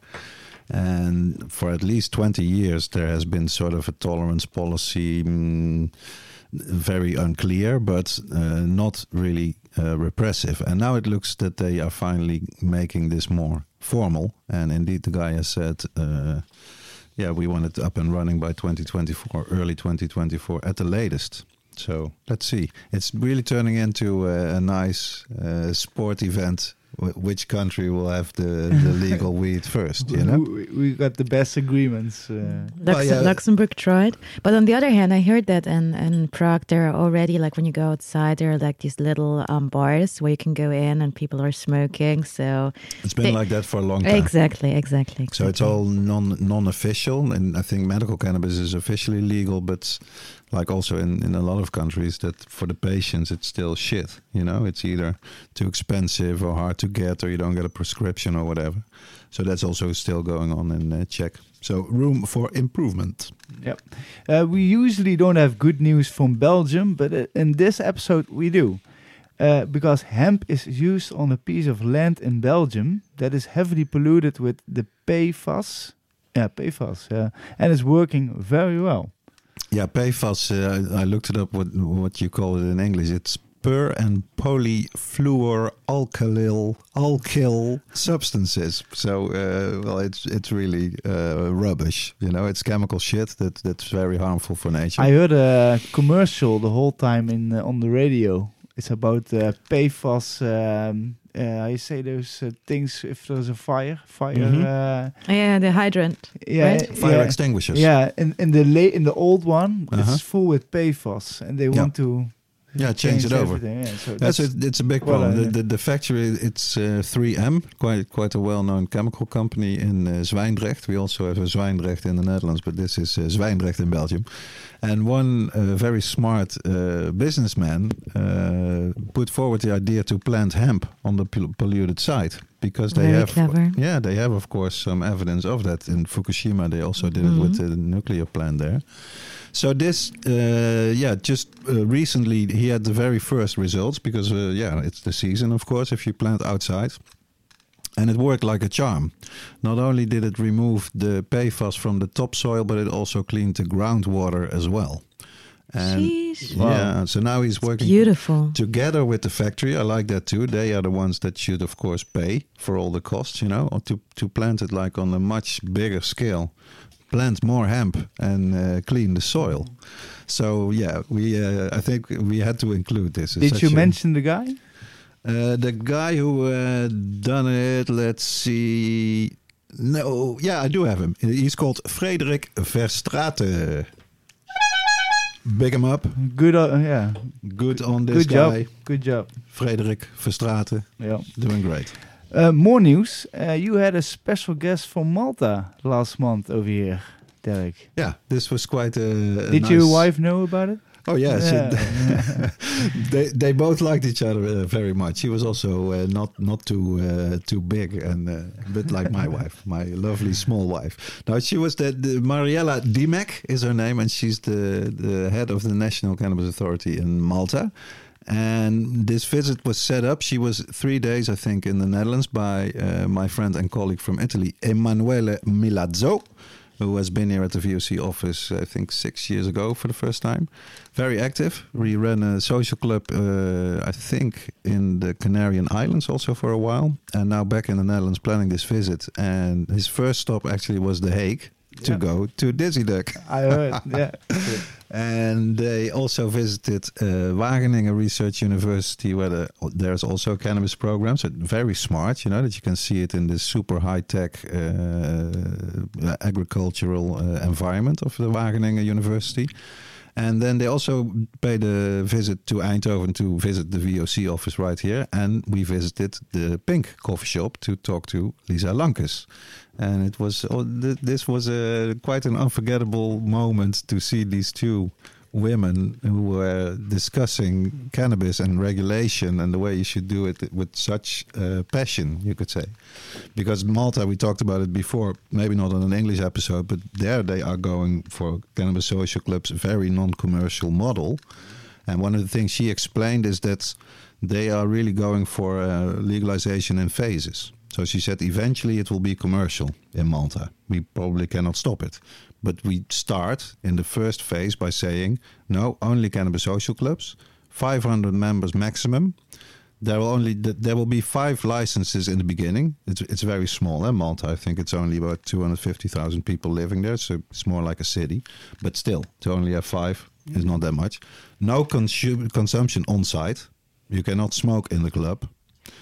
And for at least twenty years, there has been sort of a tolerance policy, mm, very unclear, but uh, not really uh, repressive. And now it looks that they are finally making this more formal. And indeed, the guy has said, uh, yeah, we want it up and running by twenty twenty-four, early twenty twenty-four at the latest. So let's see. It's really turning into a, a nice uh, sport event wh- which country will have the, the legal weed first, you know? We, we got the best agreements. Uh, Lux- Well, yeah. Luxembourg tried, but on the other hand, I heard that in, in Prague there are already, like when you go outside, there are like these little um, bars where you can go in and people are smoking. So It's been They- like that for a long time. exactly, exactly, exactly. So it's all non non-official, and I think medical cannabis is officially legal, but like also in, in a lot of countries, that for the patients it's still shit. You know, it's either too expensive or hard to get, or you don't get a prescription or whatever. So that's also still going on in uh, Czech. So room for improvement. Yep. Uh, we usually don't have good news from Belgium, but uh, in this episode we do. Uh, because hemp is used on a piece of land in Belgium that is heavily polluted with the P F A S. Yeah, P F A S. Yeah, and it's working very well. Yeah, P F A S. Uh, I, I looked it up. What what you call it in English? It's per and polyfluoroalkyl alkyl substances. So uh, well, it's it's really uh, rubbish. You know, it's chemical shit that that's very harmful for nature. I heard a commercial the whole time in uh, on the radio. It's about uh, P F A S. Um, uh, I say those uh, things if there's a fire, fire. Mhm. Uh, yeah, the hydrant. yeah, Right? Fire yeah. extinguishers. Yeah, in in the late in the old one, Uh-huh. it's full with P F A S, and they Yeah. want to Yeah, change it over. everything. Yeah, so That's it, it's a big well, problem. uh, the, the, the factory, it's uh, three M, quite quite a well-known chemical company in uh, Zwijndrecht. We also have a Zwijndrecht in the Netherlands, but this is uh, Zwijndrecht in Belgium. And one uh, very smart uh, businessman uh, put forward the idea to plant hemp on the pol- polluted site, because they Very have, clever. yeah, they have of course some evidence of that. In Fukushima, they also did Mhm. it with the nuclear plant there. So this, uh, yeah, just uh, recently he had the very first results, because, uh, yeah, it's the season, of course, if you plant outside. And it worked like a charm. Not only did it remove the P F A S from the topsoil, but it also cleaned the groundwater as well. And Sheesh. yeah, so now he's working Beautiful. together with the factory. I like that too. They are the ones that should, of course, pay for all the costs, you know, or to, to plant it like on a much bigger scale. Plant more hemp and uh, clean the soil. So yeah, we uh, I think we had to include this. It's Did such you a- mention the guy? uh, the guy who uh, done it? Let's see. No, yeah, I do have him. He's called Frederik Verstraeten. Big him up. Good, uh, yeah. Good on this Good guy. job. Good job. Frederik Verstraeten, Yeah. doing great. Uh, more news. Uh, you had a special guest from Malta last month over here, Derek. Yeah, this was quite a. a Did nice... your wife know about it? Oh yes, Yeah. they they both liked each other uh, very much. She was also uh, not not too uh, too big, and uh, a bit like my wife, my lovely small wife. Now she was the, the Mariella Dimek is her name, and she's the the head of the National Cannabis Authority in Malta. And this visit was set up. She was three days, I think, in the Netherlands by uh, my friend and colleague from Italy, Emanuele Milazzo, who has been here at the V O C office, I think, six years ago for the first time. Very active. We ran a social club, uh, I think, in the Canarian Islands also for a while. And now back in the Netherlands planning this visit. And his first stop actually was The Hague to Yeah. go to Dizzy Duck. I heard, yeah. And they also visited uh, Wageningen Research University, where the, there's also a cannabis program. So very smart, you know, that you can see it in this super high-tech uh, agricultural uh, environment of the Wageningen University. And then they also paid a visit to Eindhoven to visit the V O C office right here. And we visited the Pink coffee shop to talk to Lisa Lankes. And it was oh, th- this was a quite an unforgettable moment to see these two women who were discussing cannabis and regulation and the way you should do it with such uh, passion, you could say. Because Malta, we talked about it before, maybe not on an English episode, but there they are going for cannabis social clubs, very non-commercial model. And one of the things she explained is that they are really going for uh, legalization in phases. So she said eventually it will be commercial in Malta. We probably cannot stop it. But we start in the first phase by saying, no, only cannabis social clubs, five hundred members maximum. There will only there will be five licenses in the beginning. It's it's very small, eh? Malta. I think it's only about two hundred fifty thousand people living there, so it's more like a city. But still, to only have five is not that much. No consu- consumption on site. You cannot smoke in the club.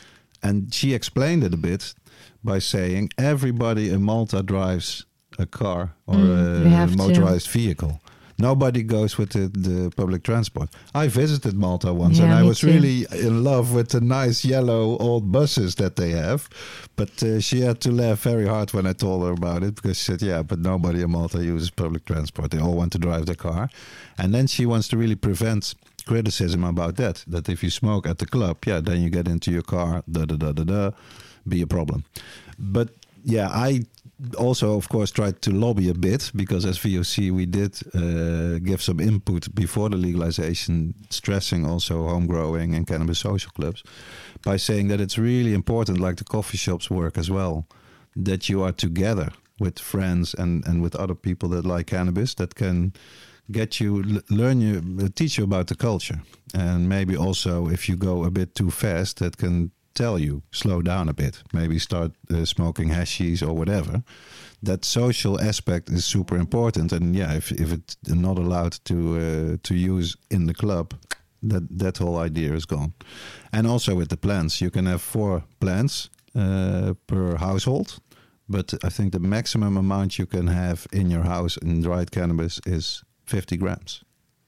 and she explained it a bit by saying everybody in Malta drives a car or Mm, we a have to. motorized vehicle. Nobody goes with the, the public transport. I visited Malta once, Yeah, and I me was too. really in love with the nice yellow old buses that they have. But uh, she had to laugh very hard when I told her about it, because she said, yeah, but nobody in Malta uses public transport. They all want to drive their car. And then she wants to really prevent criticism about that, that if you smoke at the club, yeah, then you get into your car, da da da da da, be a problem. But yeah, I also, of course, tried to lobby a bit, because as V O C we did uh, give some input before the legalization, stressing also home growing and cannabis social clubs, by saying that it's really important, like the coffee shops work as well, that you are together with friends and, and with other people that like cannabis, that can get you, l- learn you, uh, teach you about the culture. And maybe also, if you go a bit too fast, that can tell you, slow down a bit, maybe start uh, smoking hashies or whatever. That social aspect is super important. And yeah, if, if it's not allowed to uh, to use in the club, that, that whole idea is gone. And also with the plants, you can have four plants uh, per household. But I think the maximum amount you can have in your house in dried cannabis is fifty grams.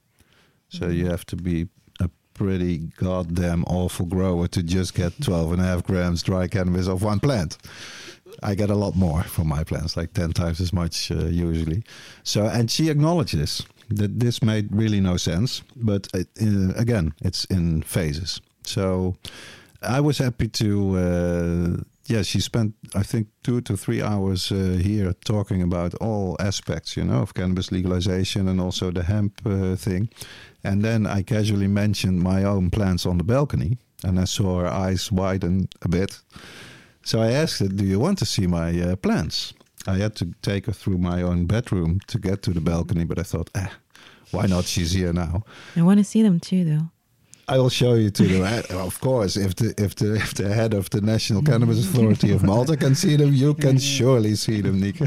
So Mm-hmm. you have to be a pretty goddamn awful grower to just get twelve and a half grams dry cannabis of one plant. I get a lot more from my plants, like ten times as much uh, usually. So, and she acknowledged this, that this made really no sense. But uh, uh, again, it's in phases. So I was happy to... Uh, Yeah, she spent, I think, two to three hours uh, here talking about all aspects, you know, of cannabis legalization and also the hemp uh, thing. And then I casually mentioned my own plants on the balcony, and I saw her eyes widen a bit. So I asked her, do you want to see my uh, plants? I had to take her through my own bedroom to get to the balcony, but I thought, eh, why not? She's here now. I want to see them too, though. I will show you to the. Of course, if the if the if the head of the National Cannabis Authority of Malta can see them, you can surely see them, Nika.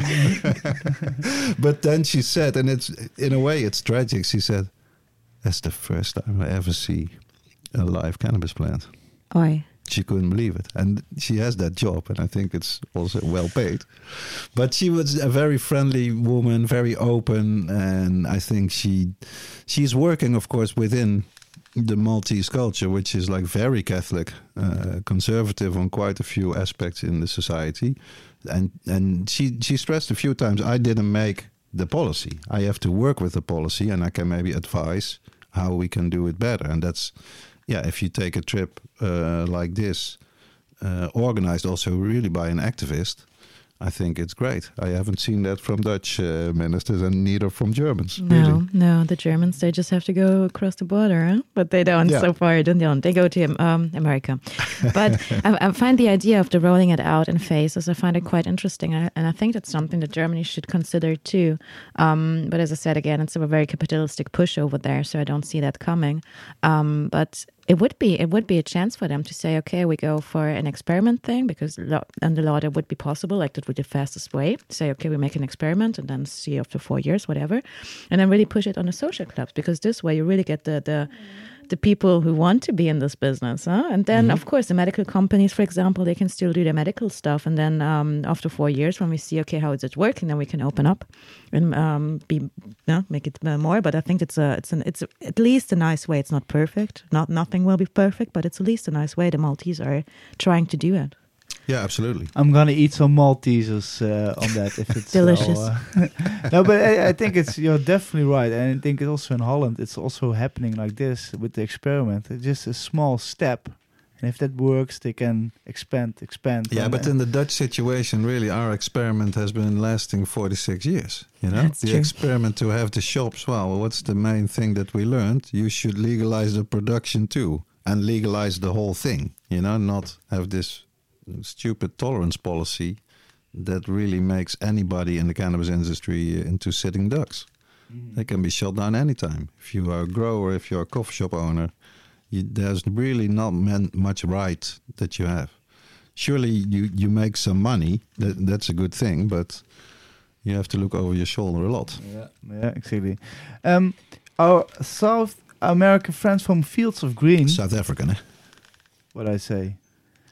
But then she said, and it's in a way it's tragic. She said, "That's the first time I ever see a live cannabis plant." Oi. She couldn't believe it, and she has that job, and I think it's also well paid. But she was a very friendly woman, very open, and I think she she's working, of course, within the Maltese culture, which is like very Catholic, uh, conservative on quite a few aspects in the society. And and she, she stressed a few times, I didn't make the policy. I have to work with the policy, and I can maybe advise how we can do it better. And that's, yeah, if you take a trip uh, like this, uh, organized also really by an activist, I think it's great. I haven't seen that from Dutch uh, ministers, and neither from Germans. No, Really. no, the Germans, they just have to go across the border, huh? But they don't Yeah. so far, don't they? Don't. They go to um, America. But I, I find the idea of the rolling it out in phases, I find it quite interesting. And I, and I think that's something that Germany should consider too. Um, but as I said, again, it's a very capitalistic push over there, so I don't see that coming. Um, but it would be it would be a chance for them to say, okay, we go for an experiment thing, because lo- under law that would be possible, like that would be the fastest way. Say, okay, we make an experiment and then see after four years, whatever, and then really push it on the social clubs, because this way you really get the the the people who want to be in this business, huh? And then Mm-hmm. of course the medical companies, for example, they can still do their medical stuff, and then um, after four years, when we see, okay, how is it working, then we can open up and um, be yeah, make it uh, more. But I think it's a it's an it's a, at least a nice way. It's not perfect. Not nothing will be perfect, but it's at least a nice way. The Maltese are trying to do it. Yeah, absolutely. I'm gonna eat some Maltesers uh, on that if it's Delicious. all, uh, no, but I, I think it's you're definitely right, and I think it's also in Holland. It's also happening like this with the experiment. It's just a small step, and if that works, they can expand, expand. Yeah, and, but uh, in the Dutch situation, really, our experiment has been lasting forty-six years. You know, That's the true. experiment to have the shops. Well, what's the main thing that we learned? You should legalize the production too, and legalize the whole thing. You know, not have this stupid tolerance policy that really makes anybody in the cannabis industry into sitting ducks. Mm. They can be shut down anytime. If you are a grower, if you're a coffee shop owner, you, there's really not man, much right that you have. Surely you, you make some money, that, that's a good thing, but you have to look over your shoulder a lot. Yeah, yeah, exactly. Um, our South American friends from Fields of Green. South African, eh? What I say?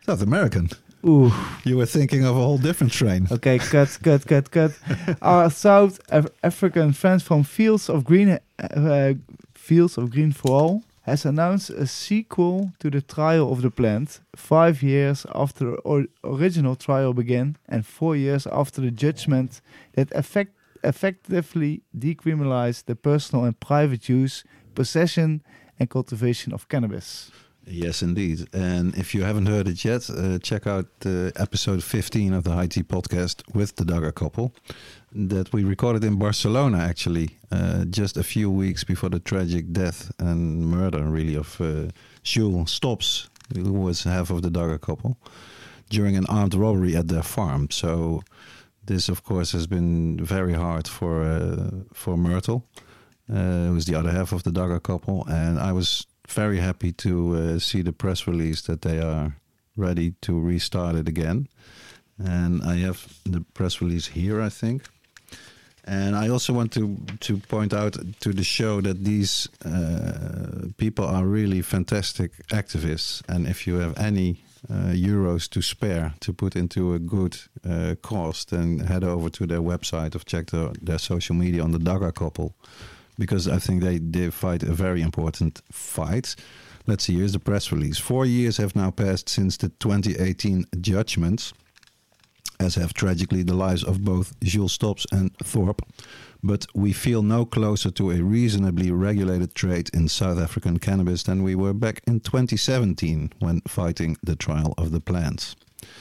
South American. Ooh. You were thinking of a whole different train. Okay, cut, cut, cut, cut. Our South Af- African friends from Fields of Green, uh, Fields of Green for All, has announced a sequel to the trial of the plant, five years after the or- original trial began, and four years after the judgment that effect- effectively decriminalized the personal and private use, possession, and cultivation of cannabis. Yes, indeed. And if you haven't heard it yet, uh, check out uh, episode fifteen of the High Tea podcast with the Dagger couple that we recorded in Barcelona, actually, uh, just a few weeks before the tragic death and murder, really, of uh, Jules Stops, who was half of the Dagger couple, during an armed robbery at their farm. So this, of course, has been very hard for uh, for Myrtle, uh, who's the other half of the Dagger couple. And I was very happy to uh, see the press release that they are ready to restart it again. And I have the press release here, I think. And I also want to, to point out to the show that these uh, people are really fantastic activists. And if you have any uh, euros to spare to put into a good uh, cause, then head over to their website or check the, their social media on the Dagger couple, because I think they, they fight a very important fight. Let's see, here's the press release. Four years have now passed since the twenty eighteen judgments, as have tragically the lives of both Jules Stops and Thorpe. But we feel no closer to a reasonably regulated trade in South African cannabis than we were back in twenty seventeen when fighting the trial of the plants.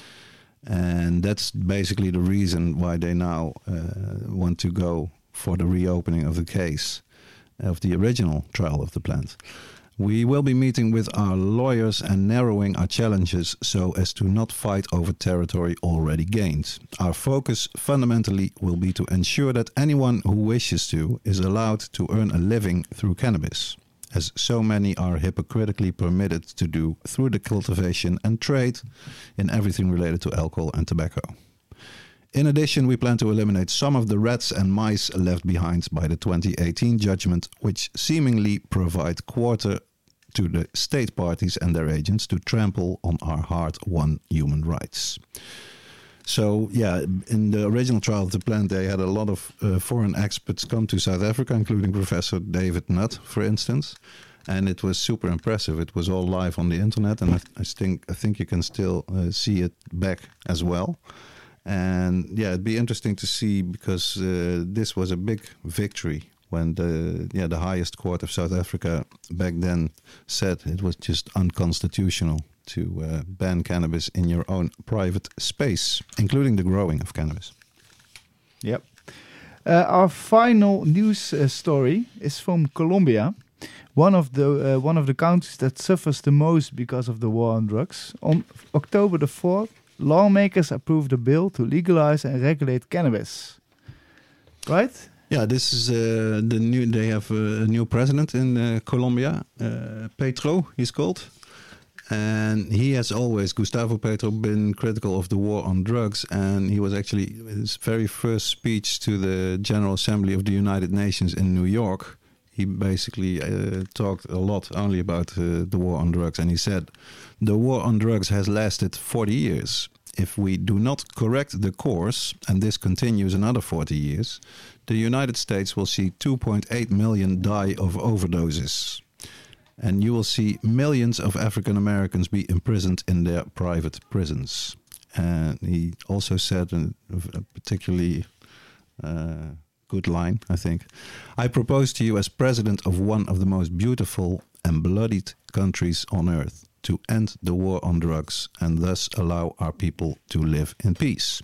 And that's basically the reason why they now uh, want to go for the reopening of the case of the original trial of the plant. We will be meeting with our lawyers and narrowing our challenges so as to not fight over territory already gained. Our focus fundamentally will be to ensure that anyone who wishes to is allowed to earn a living through cannabis, as so many are hypocritically permitted to do through the cultivation and trade in everything related to alcohol and tobacco. In addition, we plan to eliminate some of the rats and mice left behind by the twenty eighteen judgment, which seemingly provide quarter to the state parties and their agents to trample on our hard-won human rights. So, yeah, in the original trial of the plant, they had a lot of uh, foreign experts come to South Africa, including Professor David Nutt, for instance. And it was super impressive. It was all live on the internet, and I, I think I think you can still uh, see it back as well. And yeah, it'd be interesting to see, because uh, this was a big victory when the yeah the highest court of South Africa back then said it was just unconstitutional to uh, ban cannabis in your own private space, including the growing of cannabis. Yep. Uh, our final news uh, story is from Colombia, one of the uh, one of the countries that suffers the most because of the war on drugs. On October the fourth, lawmakers approved a bill to legalize and regulate cannabis. Right? Yeah, this is uh, the new. They have a, a new president in uh, Colombia, uh, Petro. He's called, and he has always, Gustavo Petro, been critical of the war on drugs. And he was actually, his very first speech to the General Assembly of the United Nations in New York, he basically uh, talked a lot only about uh, the war on drugs. And he said, the war on drugs has lasted forty years. If we do not correct the course, and this continues another forty years, the United States will see two point eight million die of overdoses. And you will see millions of African Americans be imprisoned in their private prisons. And he also said a, a particularly uh, good line, I think. I propose to you, as president of one of the most beautiful and bloodied countries on earth, to end the war on drugs and thus allow our people to live in peace.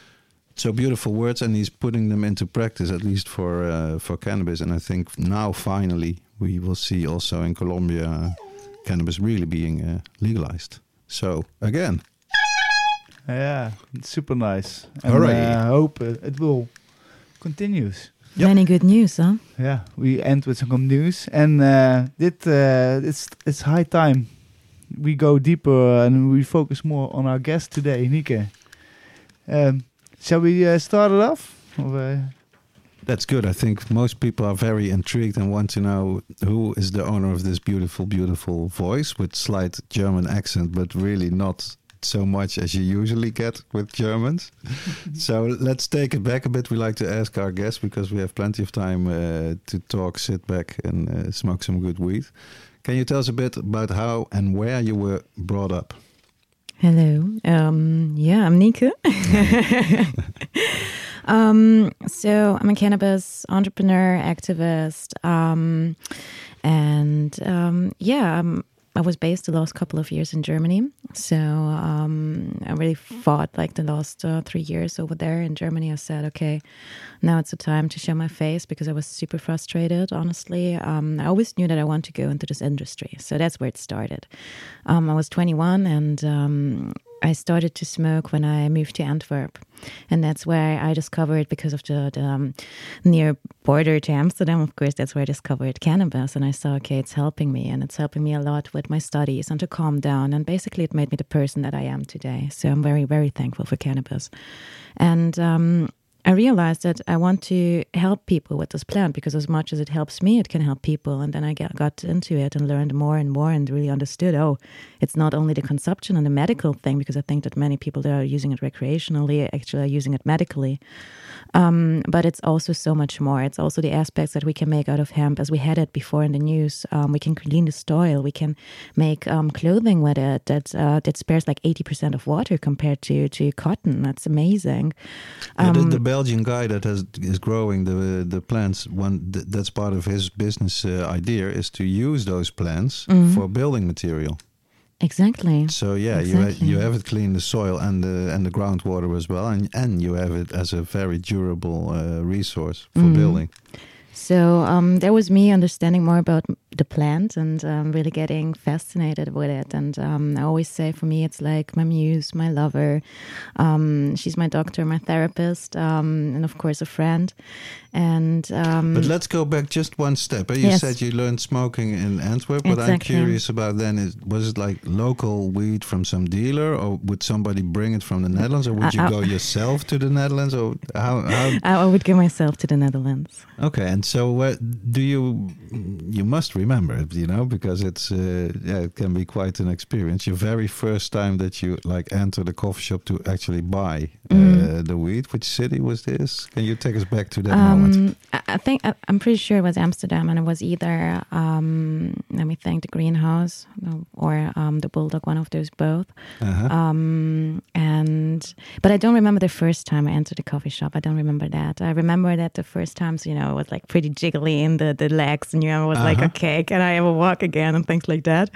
So beautiful words, and he's putting them into practice, at least for uh, for cannabis. And I think now, finally, we will see also in Colombia cannabis really being uh, legalized. So, again. Yeah, it's super nice. And Alrighty. I uh, hope uh, it will continue. Yep. Many good news, huh? Yeah, we end with some good news. And uh, dit, uh, it's, it's high time. We go deeper and we focus more on our guest today, Nike. Um, shall we uh, start it off? Or, uh, That's good. I think most people are very intrigued and want to know who is the owner of this beautiful, beautiful voice with slight German accent, but really not so much as you usually get with Germans. So let's take it back a bit. We like to ask our guests, because we have plenty of time uh, to talk, sit back and uh, smoke some good weed. Can you tell us a bit about how and where you were brought up? Hello. Um, yeah, I'm Nieke. um, so I'm a cannabis entrepreneur, activist, um, and um, yeah, I'm, I was based the last couple of years in Germany. So um, I really fought like the last uh, three years over there in Germany. I said, okay, now it's the time to show my face, because I was super frustrated, honestly. Um, I always knew that I want to go into this industry. So that's where it started. Um, I was twenty-one, and um, I started to smoke when I moved to Antwerp. And that's where I discovered, because of the, the um, near border to Amsterdam, of course, that's where I discovered cannabis. And I saw, okay, it's helping me, and it's helping me a lot with my studies and to calm down. And basically it made me the person that I am today. So I'm very, very thankful for cannabis. And um, I realized that I want to help people with this plant, because as much as it helps me, it can help people. And then I got, got into it and learned more and more, and really understood, oh, it's not only the consumption and the medical thing, because I think that many people that are using it recreationally actually are using it medically. Um, but it's also so much more. It's also the aspects that we can make out of hemp, as we had it before in the news. Um, we can clean the soil. We can make um, clothing with it that uh, that spares like eighty percent of water compared to, to cotton. That's amazing. Um, yeah, the, the Um, Belgian guy that has is growing the the plants, one th- that's part of his business uh, idea, is to use those plants Mhm. for building material. Exactly. So yeah, you ha- Exactly. you have it clean the soil and the and the groundwater as well, and and you have it as a very durable uh, resource for Mhm. building. So um, that was me understanding more about the plant, and um, really getting fascinated with it. And um, I always say, for me, it's like my muse, my lover. Um, she's my doctor, my therapist, um, and of course a friend. And um, But let's go back just one step. You Yes. said you learned smoking in Antwerp, but I'm Exactly. curious about then, is, was it like local weed from some dealer, or would somebody bring it from the Netherlands, or would I- you I- go yourself to the Netherlands, or how? how I, I would give myself to the Netherlands. Okay, and so what do you? You must remember it, you know, because it's uh, yeah, it can be quite an experience. Your very first time that you like enter the coffee shop to actually buy uh, Mhm. the weed. Which city was this? Can you take us back to that moment? Um, I I think I, I'm pretty sure it was Amsterdam, and it was either um, let me think, the Greenhouse or um, the Bulldog, one of those both. Uh-huh. Um, and but I don't remember the first time I entered the coffee shop. I don't remember that. I remember that the first times, you know, it was like pretty jiggly in the, the legs, and you know, I was like, Uh-huh. okay, can I ever walk again, and things like that.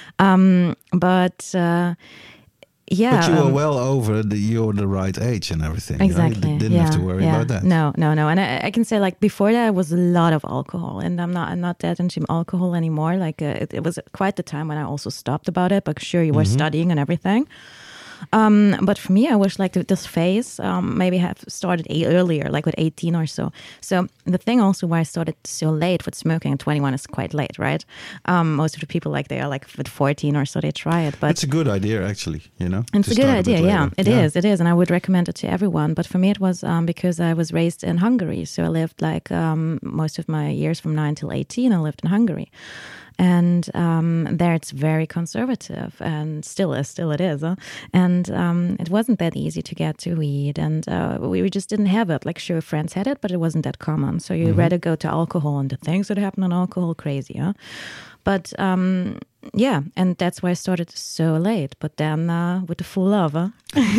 Um, but uh, yeah, But you were um, well over the you're the right age and everything. you know? You Exactly. d- didn't yeah, have to worry yeah. about that. No, no, no. And I, I can say, like, before that, it was a lot of alcohol, and I'm not, I'm not that into alcohol anymore. Like, uh, it, it was quite the time when I also stopped about it. But sure, you were Mhm. studying and everything. Um, but for me, I wish like th- this phase um, maybe have started a- earlier, like with eighteen or so. So the thing also why I started so late with smoking, and twenty-one is quite late, right? Um, most of the people like they are like with fourteen or so they try it, but It's a good idea, actually. You know, it's to a good start bit idea, yeah. later. It is, it is, and I would recommend it to everyone. But for me, it was um, because I was raised in Hungary, so I lived like um, most of my years from nine till eighteen. I lived in Hungary, and um, there it's very conservative, and still is, still it is. Huh? And um, it wasn't that easy to get to weed, and uh, we just didn't have it. Like, sure, friends had it, but it wasn't that common. So you Mhm. rather go to alcohol, and the things that happen on alcohol, crazy, huh? But um, yeah, and that's why I started so late. But then uh, with the full love, huh?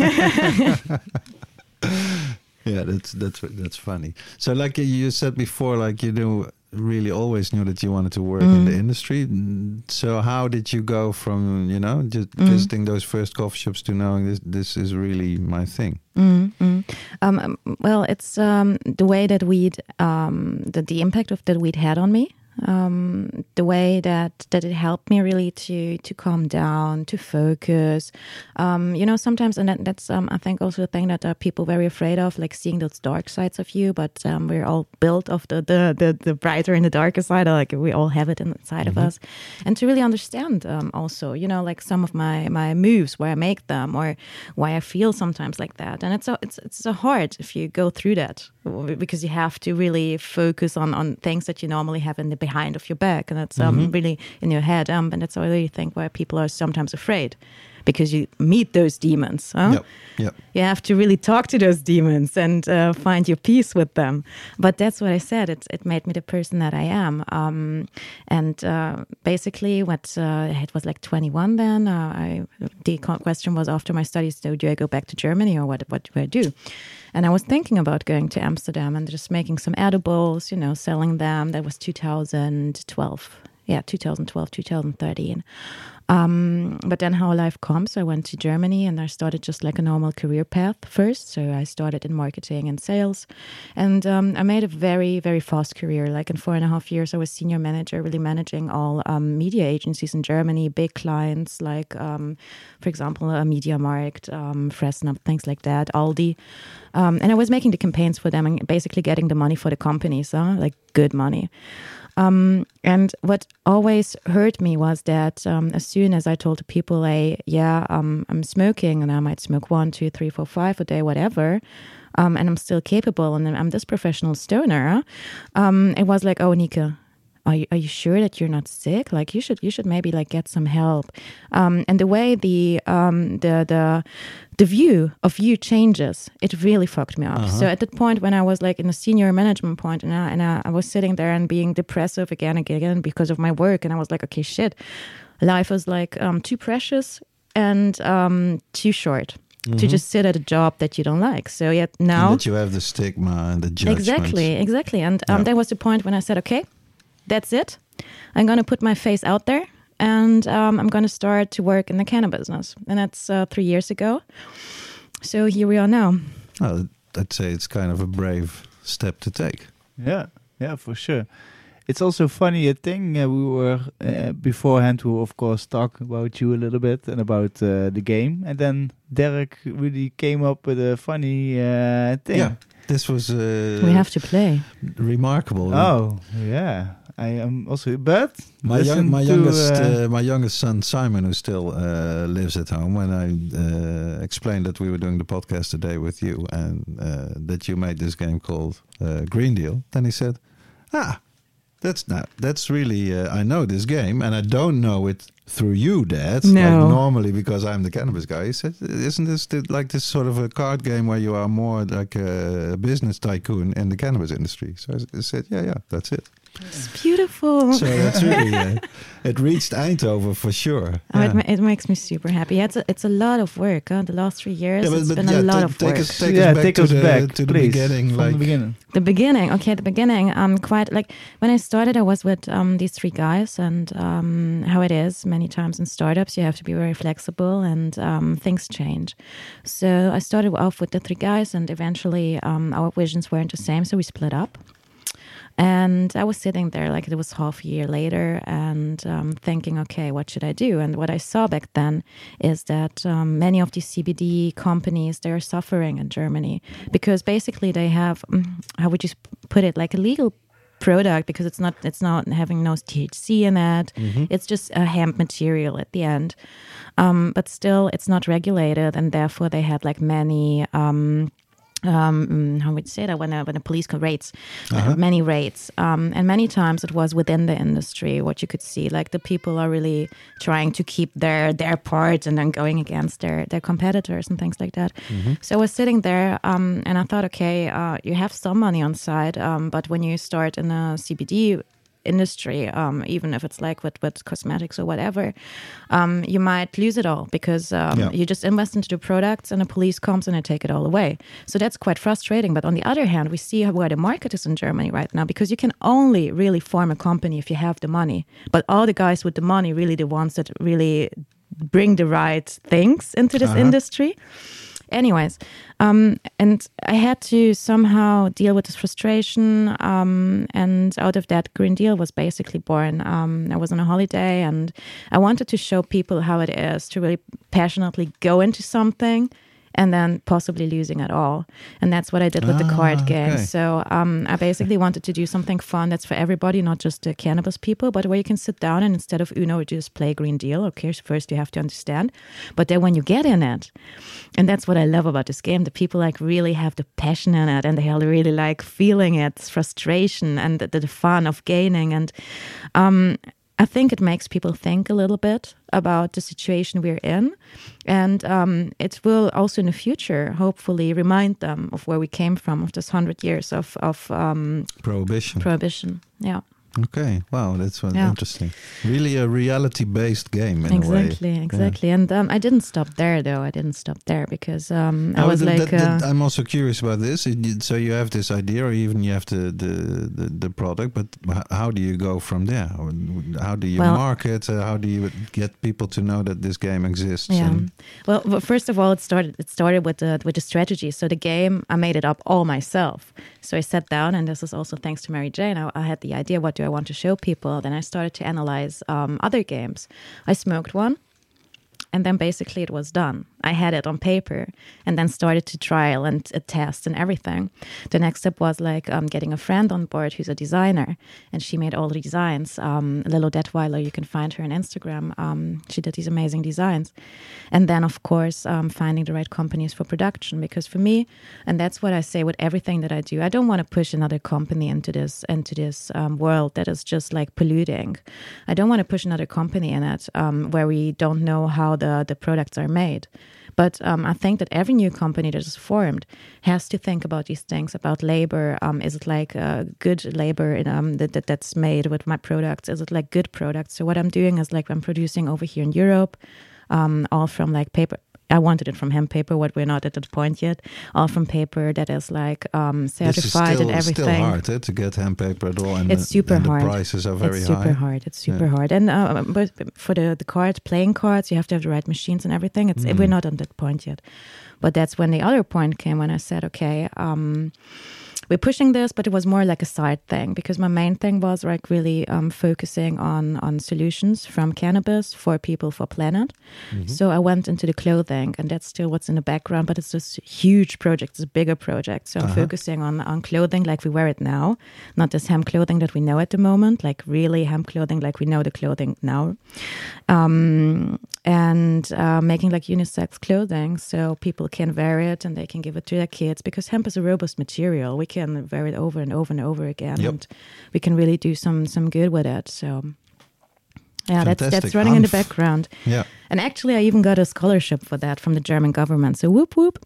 Yeah, that's that's that's funny. So, like you said before, like you knew really always knew that you wanted to work in the Mm. industry. Mm, So, how did you go from you know just Mm. visiting those first coffee shops to knowing this this is really my thing? Mm, mm. Um, um, well, it's um, the way that weed, um, the, the impact of that weed had on me. Um, the way that, that it helped me really to to calm down, to focus. Um, you know, sometimes, and that, that's um, I think also the thing that uh, people very afraid of, like seeing those dark sides of you. But um, we're all built of the, the the the brighter and the darker side. Like we all have it inside Mhm. of us, and to really understand um, also, you know, like some of my my moves, why I make them, or why I feel sometimes like that. And it's a, it's it's a hard if you go through that, because you have to really focus on on things that you normally have in the behind of your back, and that's um, Mhm. really in your head. Um, and that's I really think why people are sometimes afraid, because you meet those demons. Huh? Yep. Yep. You have to really talk to those demons and uh, find your peace with them. But that's what I said. It it made me the person that I am. Um, and uh, basically, what uh, it was like twenty-one then. Uh, I, the question was after my studies, so do I go back to Germany or what? What do I do? And I was thinking about going to Amsterdam and just making some edibles, you know, selling them. That was two thousand twelve. Yeah, two thousand twelve, two thousand thirteen. Um, but then how life comes, I went to Germany and I started just like a normal career path first. So I started in marketing and sales. And um, I made a very, very fast career. Like in four and a half years, I was senior manager, really managing all um, media agencies in Germany, big clients like, um, for example, uh, MediaMarkt, um, Fressnapf, things like that, Aldi. Um, and I was making the campaigns for them and basically getting the money for the companies, huh? Like good money. Um, and what always hurt me was that um, as soon as I told the people, I, yeah, um, I'm smoking and I might smoke one, two, three, four, five a day, whatever, um, and I'm still capable and I'm this professional stoner, um, it was like, oh, Nika, are you, are you sure that you're not sick? Like you should, you should maybe like get some help. Um, and the way the, um, the, the, the view of you changes, it really fucked me up. Uh-huh. So at that point when I was like in a senior management point and I, and I, I was sitting there and being depressive again and again because of my work. And I was like, okay, shit, life is like um, too precious and um, too short. Mm-hmm. To just sit at a job that you don't like. So yet now... And that you have the stigma and the judgment. Exactly, exactly. And um, yeah. That was the point when I said, okay, that's it. I'm going to put my face out there and um, I'm going to start to work in the cannabis business. And that's uh, three years ago. So here we are now. Oh, I'd say it's kind of a brave step to take. Yeah, yeah, for sure. It's also funny, a thing uh, we were uh, beforehand to, of course, talk about you a little bit and about uh, the game. And then Derek really came up with a funny uh, thing. Yeah, this was... Uh, we have to play. Remarkable. Oh, yeah. I am also, but my young, my to, youngest, uh, uh, my youngest son Simon, who still uh, lives at home, when I uh, explained that we were doing the podcast today with you and uh, that you made this game called uh, Green Deal, then he said, "Ah, that's not. That's really. Uh, I know this game, and I don't know it through you, Dad. No. Like normally because I'm the cannabis guy." He said, "Isn't this the, like this sort of a card game where you are more like a business tycoon in the cannabis industry?" So I said, "Yeah, yeah, that's it." It's beautiful. So that's really uh, it reached Eindhoven for sure. Oh, yeah. it, ma- it makes me super happy. Yeah, it's a, it's a lot of work. Huh? The last three years, Yeah, but, it's but been yeah, a lot t- of take work. us, take yeah, us back take to us the, back to the please, beginning. From Like the beginning. The beginning, okay, the beginning. Um, quite like when I started, I was with um these three guys, and um how it is many times in startups, you have to be very flexible, and um things change. So I started off with the three guys, and eventually um our visions weren't the same, so we split up. And I was sitting there like it was half a year later and um, thinking, okay, what should I do? And what I saw back then is that um, many of these C B D companies, they're suffering in Germany because basically they have, how would you put it, like a legal product because it's not it's not having no T H C in it. Mm-hmm. It's just a hemp material at the end. Um, but still, it's not regulated and therefore they had like many... Um, Um, how would you say that when a, when a police could raids, uh-huh. uh, many raids, um, and many times it was within the industry. What you could see, like the people are really trying to keep their their part and then going against their their competitors and things like that. Mm-hmm. So I was sitting there, um, and I thought, okay, uh, you have some money on side, um, but when you start in a C B D industry, um, even if it's like with, with cosmetics or whatever, um, you might lose it all because um, yeah. you just invest into the products and the police comes and they take it all away. So that's quite frustrating. But on the other hand, we see where the market is in Germany right now because you can only really form a company if you have the money. But all the guys with the money, really the ones that really bring the right things into this uh-huh. industry. Anyways, um, and I had to somehow deal with this frustration, um, and out of that, Green Deal was basically born. Um, I was on a holiday, and I wanted to show people how it is to really passionately go into something and then possibly losing it all. And that's what I did with ah, the card game. Okay. So um, I basically wanted to do something fun that's for everybody, not just the cannabis people, but where you can sit down and instead of Uno, just play Green Deal. Okay, so first you have to understand. But then when you get in it, and that's what I love about this game, the people like really have the passion in it and they really like feeling it, frustration and the, the fun of gaining. And um, I think it makes people think a little bit about the situation we're in. And um, it will also in the future, hopefully, remind them of where we came from, of this hundred years of, of um, prohibition. Prohibition, yeah. Okay, wow, that's uh, yeah. interesting. Really a reality-based game in exactly, a way. Exactly, yeah. And um, I didn't stop there, though. I didn't stop there because um, I oh, was th- like... that, that, uh, I'm also curious about this. So you have this idea, or even you have the, the, the, the product, but how do you go from there? How do you well, market? Uh, how do you get people to know that this game exists? Yeah. And well, well, first of all, it started It started with the, with the strategy. So the game, I made it up all myself. So I sat down, and this is also thanks to Mary Jane. I, I had the idea, what do I want to show people? Then I started to analyze um, other games. I smoked one, and then basically it was done. I had it on paper, and then started to trial and uh, test and everything. The next step was like um, getting a friend on board who's a designer, and she made all the designs. Um, Lilo Detweiler, you can find her on Instagram. Um, she did these amazing designs. And then, of course, um, finding the right companies for production. Because for me, and that's what I say with everything that I do, I don't want to push another company into this into this um, world that is just like polluting. I don't want to push another company in it um, where we don't know how the, the products are made. But um, I think that every new company that is formed has to think about these things, about labor. Um, is it like uh, good labor in, um, that, that that's made with my products? Is it like good products? So what I'm doing is like I'm producing over here in Europe, um, all from like paper. I wanted it from hemp paper, what we're not at that point yet. All from paper that is like um, certified this is still, and everything. It's still hard eh, to get hemp paper at all, and it's super and hard. The prices are very it's super high. hard. It's super yeah. hard. And uh, but for the the cards, playing cards, you have to have the right machines and everything. It's mm. we're not on that point yet. But that's when the other point came, when I said, okay, um, we're pushing this, but it was more like a side thing, because my main thing was like really um, focusing on on solutions from cannabis for people, for planet. Mm-hmm. So I went into the clothing, and that's still what's in the background, but it's this huge project, it's a bigger project. So I'm uh-huh. focusing on, on clothing like we wear it now, not this hemp clothing that we know at the moment, like really hemp clothing like we know the clothing now. Um, and uh, making like unisex clothing so people can wear it and they can give it to their kids, because hemp is a robust material. We can wear it over and over and over again, yep. and we can really do some some good with it. So yeah, Fantastic. that's that's running Hanf. in the background. Yeah, and actually I even got a scholarship for that from the German government. So whoop whoop.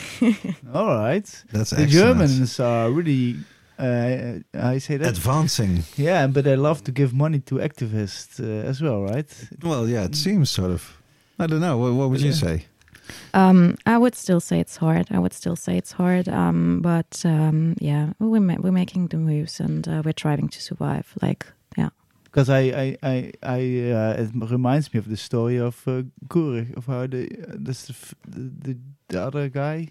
All right, that's the excellent. Germans are really uh, I say that advancing. Yeah, but they love to give money to activists uh, as well, right? Well, yeah, it seems sort of. I don't know. What, what would yeah. you say? Um, I would still say it's hard. I would still say it's hard. Um, but um, yeah, we're ma- we're making the moves, and uh, we're trying to survive. Like, yeah. Because I, I, I, I uh, it reminds me of the story of uh, Gurig, of how the uh, this the, the the other guy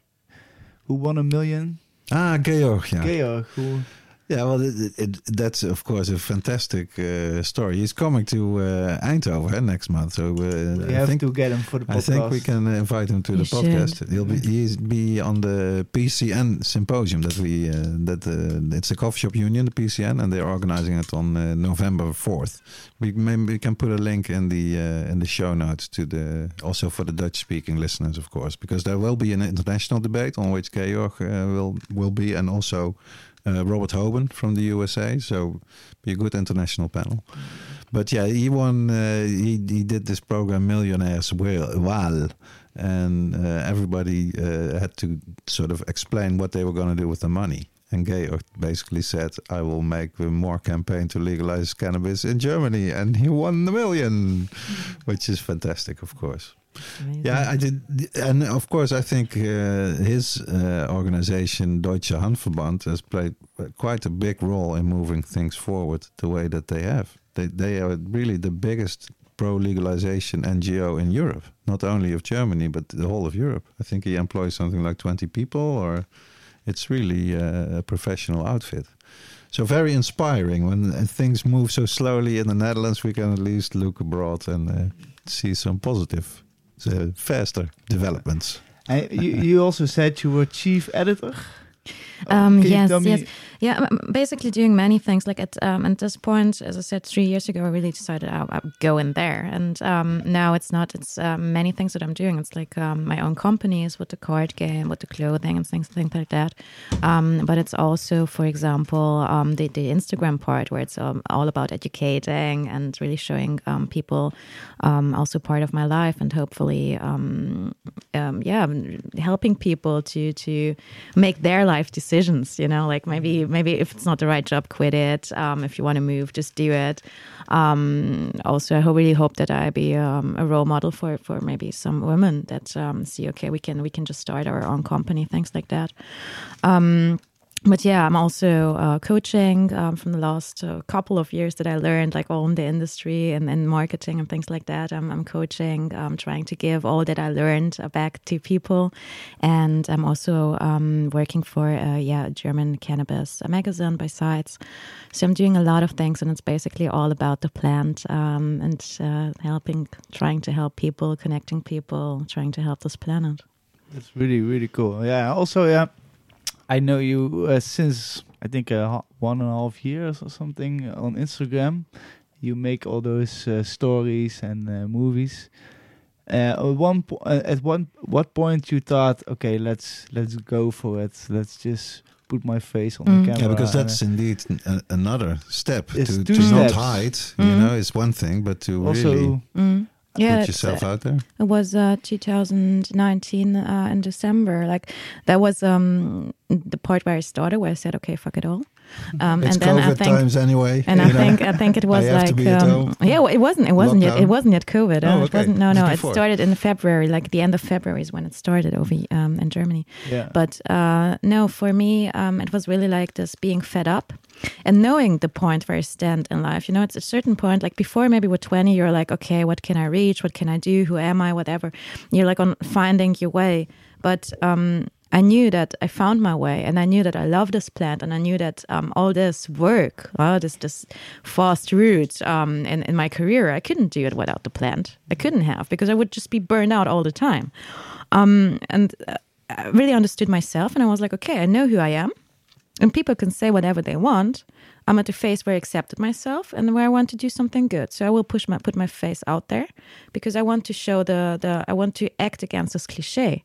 who won a million. Ah, Georg. Yeah. Georg, who. Yeah, well, it, it, that's of course a fantastic uh, story. He's coming to uh, Eindhoven next month, so uh, we I have think, to get him for the podcast. I think we can invite him to you the should. podcast. He'll be he's be on the P C N symposium that we uh, that uh, it's a coffee shop union, the P C N, and they're organizing it on uh, November fourth. We maybe we can put a link in the uh, in the show notes to the also for the Dutch speaking listeners, of course, because there will be an international debate on which Georg uh, will will be, and also. Uh, Robert Hoban from the U S A, so be a good international panel. But yeah, he won. Uh, he he did this program Millionaires Waal, and uh, everybody uh, had to sort of explain what they were going to do with the money. And Georg basically said, "I will make more campaign to legalize cannabis in Germany," and he won the million, which is fantastic, of course. Amazing. Yeah, I did, and of course, I think uh, his uh, organization, Deutsche Hanfverband, has played quite a big role in moving things forward the way that they have. They they are really the biggest pro-legalization N G O in Europe, not only of Germany but the whole of Europe. I think he employs something like twenty people, or it's really uh, a professional outfit. So very inspiring. When things move so slowly in the Netherlands, we can at least look abroad and uh, see some positive. Uh, faster developments. And you, you also said you were chief editor. Um, Can you yes, tell me- yes. Yeah, I'm basically doing many things. Like at um, at this point, as I said, three years ago, I really decided I, I would go in there. And um, now it's not. It's um, many things that I'm doing. It's like um, my own companies with the card game, with the clothing and things, things like that. Um, but it's also, for example, um, the, the Instagram part where it's um, all about educating and really showing um, people um, also part of my life and hopefully, um, um, yeah, helping people to to make their life decisions. You know, like maybe. Maybe if it's not the right job, quit it. Um, if you want to move, just do it. Um, also, I ho- really hope that I be um, a role model for, for maybe some women that um, see, okay, we can we can just start our own company, things like that. Um, But yeah, I'm also uh, coaching um, from the last uh, couple of years that I learned, like all in the industry and, and marketing and things like that. I'm, I'm coaching, um, trying to give all that I learned uh, back to people. And I'm also um, working for a yeah, German cannabis magazine by Sides. So I'm doing a lot of things, and it's basically all about the plant um, and uh, helping, trying to help people, connecting people, trying to help this planet. That's really, really cool. Yeah, also, yeah. I know you uh, since I think uh, one and a half years or something on Instagram. You make all those uh, stories and uh, movies. Uh, at one po- uh, at one what point you thought, okay, let's let's go for it. Let's just put my face on Mm. the camera. Yeah, because and, that's indeed a, another step. It's To, two to not steps. hide, Mm. you know, is one thing, but to also really Mm. Yeah, put it's, yourself uh, out there. It was uh, two thousand nineteen uh, in December. Like that was um, the part where I started, where I said, "Okay, fuck it all." Um, It's and then COVID I think, times anyway. and you I know. think I think it was I have to like be at um, home. yeah, well, it wasn't it wasn't yet it Lockdown? wasn't yet COVID. Uh, Oh, It okay. wasn't no It was no. It before. started in February, like the end of February is when it started over um, in Germany. yeah. But uh, no, for me, um, it was really like this being fed up and knowing the point where I stand in life. You know, it's a certain point, like before maybe with twenty, you're like, okay, what can I reach? What can I do? Who am I? Whatever. You're like on finding your way. But um, I knew that I found my way, and I knew that I love this plant, and I knew that um, all this work, uh, this this fast route um, in, in my career, I couldn't do it without the plant. I couldn't have, because I would just be burned out all the time. Um, and uh, I really understood myself, and I was like, okay, I know who I am, and people can say whatever they want. I'm at the phase where I accepted myself and where I want to do something good. So I will push my put my face out there, because I want to show the the I want to act against this cliche.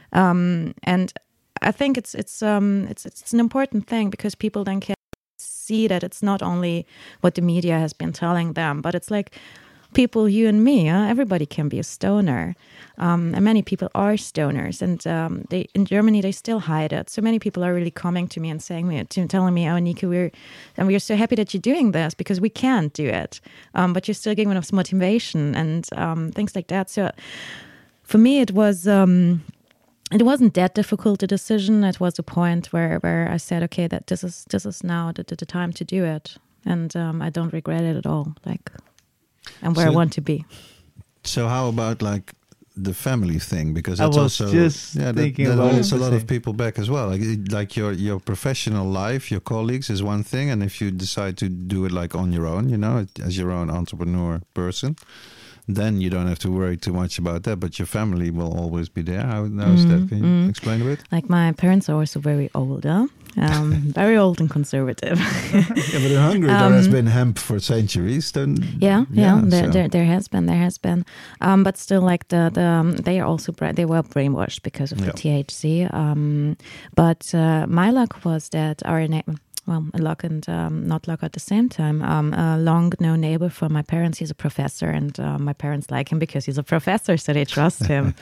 Um, and I think it's it's um it's it's an important thing, because people then can see that it's not only what the media has been telling them, but it's like people, you and me, huh? Everybody can be a stoner, um, and many people are stoners, and um, they in Germany they still hide it. So many people are really coming to me and saying me, to, telling me, "Oh, Nico, we're and we're so happy that you're doing this, because we can't do it, um, but you're still giving us motivation and um, things like that." So for me, it was. Um, It wasn't that difficult, the decision. It was a point where, where I said, okay, that this is this is now the, the, the time to do it, and um, I don't regret it at all. Like, and where So- I want to be. So how about like the family thing? Because I that's was also just yeah, that, thinking that about holds a the lot of same. people back as well. Like like your your professional life, your colleagues is one thing, and if you decide to do it like on your own, you know, as your own entrepreneur person, then you don't have to worry too much about that. But your family will always be there. How, how is that? Can you mm. explain a bit? Like my parents are also very old, huh? um, very old and conservative. Yeah, but in Hungary there has Um, been hemp for centuries. Then Yeah, yeah, there, so- there, there has been, there has been, um, but still, like the the um, they are also bra- they were brainwashed because of Yeah. the T H C. Um, but uh, my luck was that our na- well, luck and um, not luck at the same time. Um, a long known neighbor from my parents, he's a professor, and uh, my parents like him because he's a professor, so they trust him.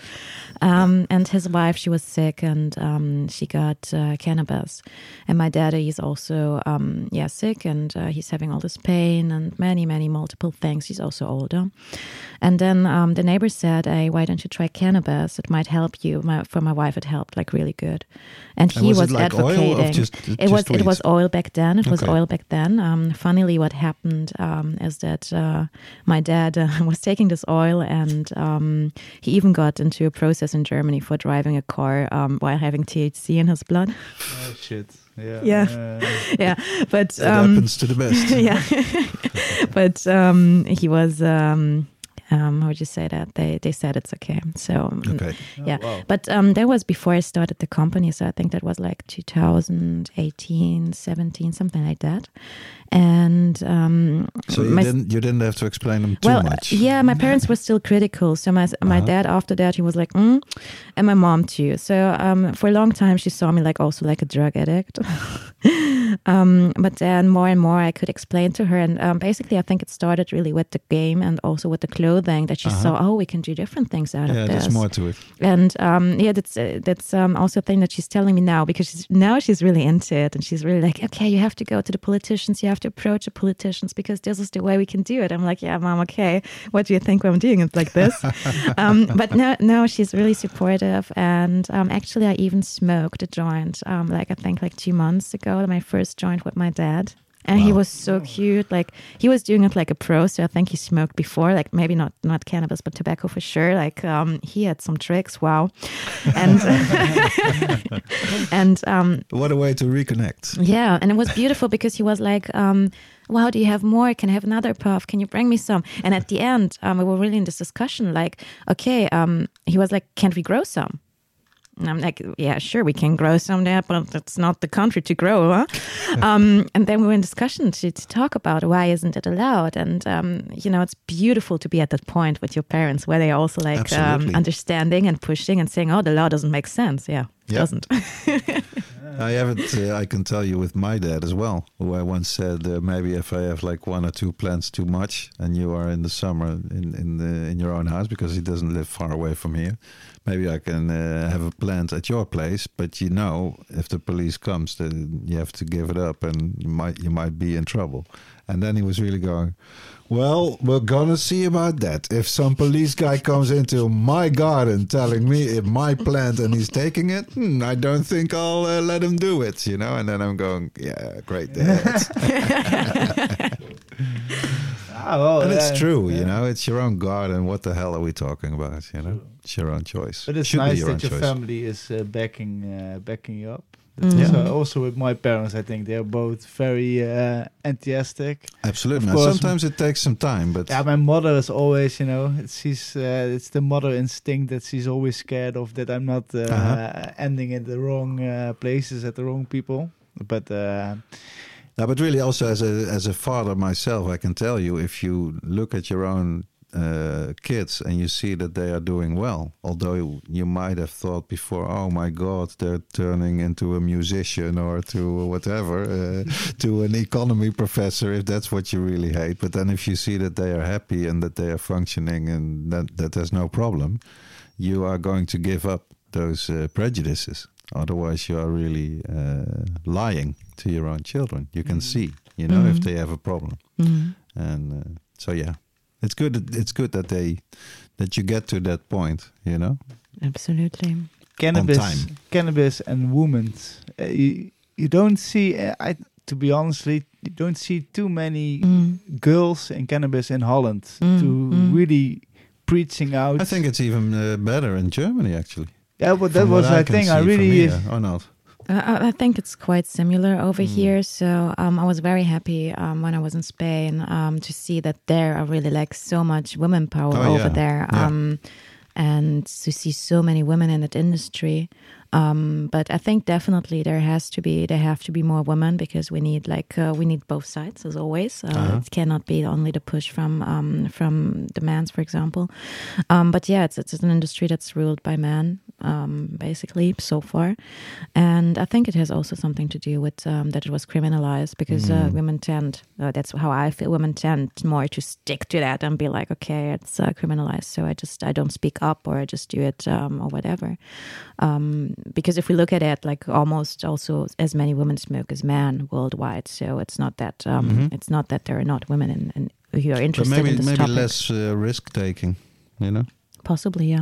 Um, and his wife, she was sick, and um, she got uh, cannabis. And my dad, he's also um, yeah sick, and uh, he's having all this pain and many, many multiple things. He's also older. And then um, the neighbor said, "Hey, why don't you try cannabis? It might help you." My, for my wife, it helped like really good. And he And was was, it like oil or advocating. just- it just was it weed? was oil back then. It was Okay. oil back then. Um, funnily, what happened um, is that uh, my dad uh, was taking this oil, and um, he even got into a process in Germany for driving a car um, while having T H C in his blood. Oh shit. Yeah. Yeah. Uh, Yeah, but It um, happens to the best. yeah, but um, he was um, Um, how would you say that? They they said it's okay. So um, Okay. yeah, Oh, wow. but um, that was before I started the company. So I think that was like two thousand eighteen, seventeen, something like that. And um, So you my- didn't you didn't have to explain them too well, much. yeah, my parents were still critical. So my my Uh-huh. dad, after that, he was like, mm, and my mom too. So um, for a long time, she saw me like also like a drug addict. um, but then more and more, I could explain to her, and um, basically, I think it started really with the game and also with the clothing that she Uh-huh. saw. Oh, we can do different things out Yeah, of this. there's more to it. And um, yeah, that's uh, that's um, also a thing that she's telling me now, because she's, now she's really into it, and she's really like, okay, you have to go to the politicians, you have to approach the politicians, because this is the way we can do it. I'm like, yeah, mom, okay. What do you think when I'm doing it like this? um, but now, now she's really supportive, and um, actually, I even smoked a joint, um, like I think like two months ago, my first joint with my dad. And he Wow. was so cute. Like he was doing it like a pro. So I think he smoked before, like maybe not not cannabis, but tobacco for sure. Like um, he had some tricks. Wow. And and um, What a way to reconnect. yeah, and it was beautiful because he was like, um, wow, do you have more? Can I have another puff? Can you bring me some? And at the end, um, we were really in this discussion. Like, okay, um, he was like, can't we grow some? And I'm like, yeah, sure, we can grow some there, but that's not the country to grow, huh? um, and then we were in discussion to, to talk about why isn't it allowed? And, um, you know, it's beautiful to be at that point with your parents where they are also like um, Absolutely. understanding and pushing and saying, oh, the law doesn't make sense. Yeah, it Yeah. doesn't. I haven't. Uh, I can tell you with my dad as well, who I once said uh, maybe if I have like one or two plants too much, and you are in the summer in in the in your own house because he doesn't live far away from here, maybe I can uh, have a plant at your place. But you know, if the police comes, then you have to give it up, and you might you might be in trouble. And then he was really going, well, we're gonna see about that. If some police guy comes into my garden telling me it's my plant and he's taking it, hmm, I don't think I'll uh, let him do it, you know. And then I'm going, yeah, great dad. Ah, well, And it's uh, true, yeah. you know. It's your own garden. What the hell are we talking about, you know? It's your own choice. But it's Should be nice your that own your choice. family is uh, backing uh, backing you up. That's Mhm. also, also with my parents, I think they're both very uh, enthusiastic. Absolutely. Of Now, course. sometimes it takes some time, but Yeah, my mother is always, you know, it's, she's uh, it's the mother instinct that she's always scared of that I'm not uh, Uh-huh. ending in the wrong uh, places at the wrong people. But uh, No, but really, also as a as a father myself, I can tell you, if you look at your own uh, kids and you see that they are doing well, although you, you might have thought before, oh my God, they're turning into a musician or to whatever, uh, to an economy professor, if that's what you really hate. But then if you see that they are happy and that they are functioning and that, that there's no problem, you are going to give up those uh, prejudices. Otherwise, you are really uh, lying to your own children. You can see, you know, if Mhm. they have a problem, Mhm. and uh, so yeah, it's good. It's good that they that you get to that point. You know, Absolutely. cannabis, time. cannabis and women, uh, you, you don't see. Uh, I to be honestly, you don't see too many Mm. girls in cannabis in Holland Mm, to mm. really preaching out. I think it's even uh, better in Germany, actually. yeah, but that From was what I can think see I from really. here, or not? Uh, I I think it's quite similar over Mm. here. So um, I was very happy um, when I was in Spain um, to see that there are really like so much women power Oh, over yeah. there, Yeah. um, and to see so many women in that industry. Um, but I think definitely there has to be there have to be more women, because we need like uh, we need both sides as always. Uh, Uh-huh. It cannot be only the push from um, from the mans, for example. Um, but yeah, it's it's an industry that's ruled by men, um, basically so far, and I think it has also something to do with um, that it was criminalized, because uh, Mm. women tend uh, that's how I feel. Women tend more to stick to that and be like, okay, it's uh, criminalized, so I just I don't speak up, or I just do it um, or whatever. Um, because if we look at it, like almost also as many women smoke as men worldwide, so it's not that um, Mhm. it's not that there are not women in, in, who are But interested maybe in this maybe topic. less uh, risk taking. You know. Possibly, yeah.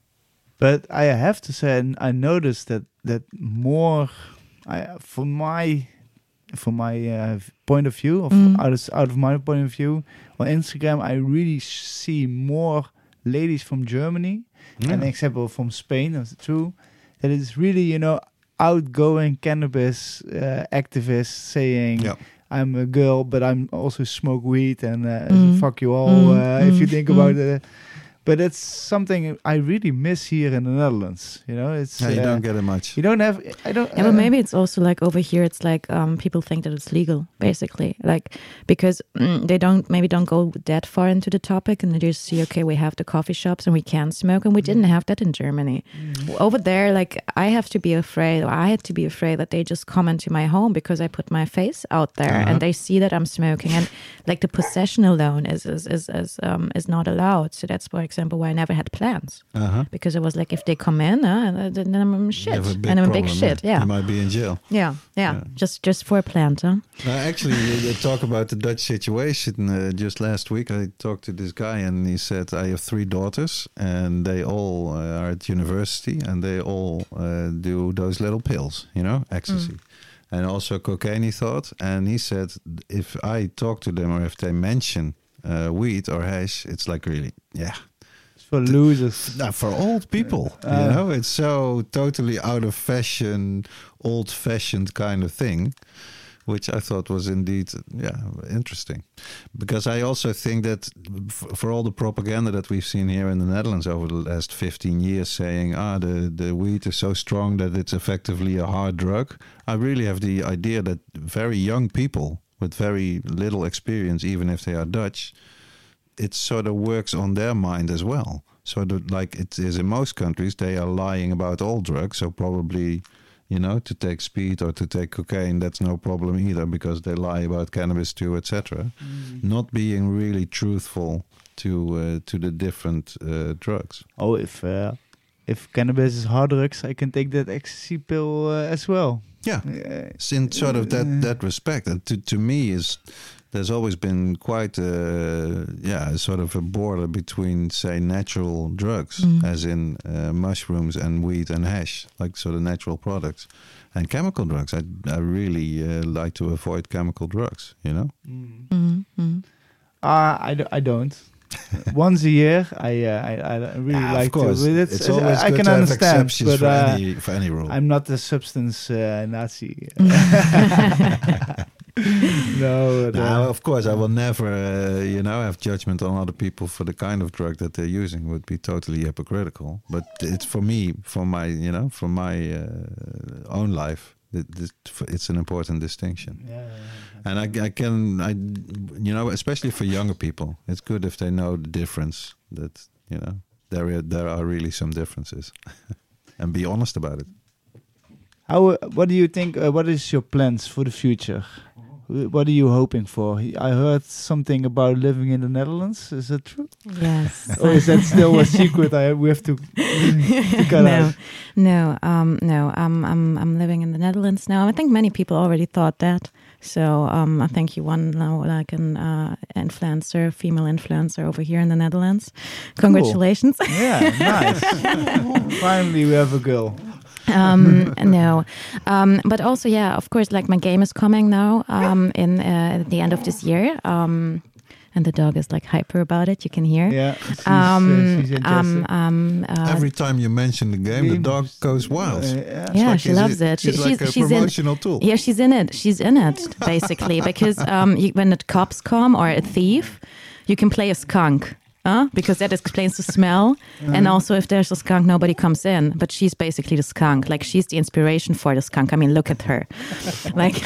But I have to say, I noticed that that more, I, from my from my uh, point of view, of Mm. out, of, out of my point of view, on Instagram, I really see more ladies from Germany, Yeah. an example from Spain, that's true, that is really, you know, outgoing cannabis uh, activists saying, Yeah. I'm a girl, but I'm also smoke weed and uh, Mm. fuck you all. Mm, Uh, if you mm, think mm. about it, but it's something I really miss here in the Netherlands. You know, it's Yeah, you uh, don't get it much. you don't have. I don't. Yeah, uh, but maybe it's also like over here, it's like um, people think that it's legal, basically, like because mm, they don't maybe don't go that far into the topic, and they just see, okay, we have the coffee shops and we can smoke, and we didn't have that in Germany. Over there, like I have to be afraid, or I had to be afraid that they just come into my home because I put my face out there, Uh-huh. and they see that I'm smoking, and like the possession alone is is is is, um, is not allowed. So that's, for example, why I never had plants. Uh-huh. Because it was like, if they come in, uh, then I'm shit, You have a big and I'm a problem, big shit. Yeah, You might be in jail. yeah, yeah, Yeah. Just just for a plant, huh? Uh, actually, you, you talk about the Dutch situation. Uh, just last week, I talked to this guy, and he said, I have three daughters, and they all uh, are at university, and they all uh, do those little pills, you know, ecstasy. Mm. And also cocaine, he thought. And he said, if I talk to them, or if they mention uh, weed or hash, it's like really, yeah. for losers. Now, for old people, Uh, you know, it's so totally out of fashion, old-fashioned kind of thing, which I thought was indeed, yeah, interesting. Because I also think that f- for all the propaganda that we've seen here in the Netherlands over the last fifteen years, saying, ah, the, the weed is so strong that it's effectively a hard drug, I really have the idea that very young people with very little experience, even if they are Dutch, it sort of works on their mind as well. So that, like it is in most countries, they are lying about all drugs. So probably, you know, to take speed or to take cocaine, that's no problem either, because they lie about cannabis too, et cetera. Mm. Not being really truthful to uh, to the different uh, drugs. Oh, if uh, if cannabis is hard drugs, I can take that ecstasy pill uh, as well. Yeah, Uh, it's in sort of that that respect. And to to me is. There's always been quite a, yeah, a sort of a border between, say, natural drugs, Mm. as in uh, mushrooms and weed and hash, like sort of natural products, and chemical drugs. I, I really uh, like to avoid chemical drugs, you know? mm. Mm-hmm. Uh, I, do, I don't. Once a year, I uh, I, I really Yeah, like of course. to. But It's, always I good can to have understand, exceptions but for, uh, any, for any rule. I'm not a substance uh, Nazi. no, but, Now, uh, of course, I will never, uh, you know, have judgment on other people for the kind of drug that they're using. Would be totally hypocritical. But it's for me, for my, you know, for my uh, own life, it, it's an important distinction. yeah, yeah, And I, I can, I, you know, especially for younger people, it's good if they know the difference. That, you know, there are, there are really some differences, and be honest about it. How? Uh, what do you think? Uh, what is your plans for the future? Wh- What are you hoping for? I heard something about living in the Netherlands. Is that true? Yes. Or is that still a secret? I we have to, to cut no, out. no, um, no. I'm, I'm, I'm living in the Netherlands now. I think many people already thought that. So um, I think you want now like an uh, influencer, female influencer over here in the Netherlands. Congratulations. Yeah, nice. Finally, we have a girl. um no um but also, yeah, of course, like my game is coming now um in uh, at the end of this year, um and the dog is like hyper about it, you can hear. Yeah, she's, um uh, she's interested. um um uh, Every time you mention the game, the dog goes wild. Uh, It's yeah. yeah, like she it's loves a- it. She- It's like a she's in promotional tool. yeah she's in it she's in it basically, because um you, when the cops come or a thief, you can play a skunk. Huh? Because that explains the smell. And also, if there's a skunk, nobody comes in. But she's basically the skunk. Like, she's the inspiration for the skunk. I mean, look at her. Like,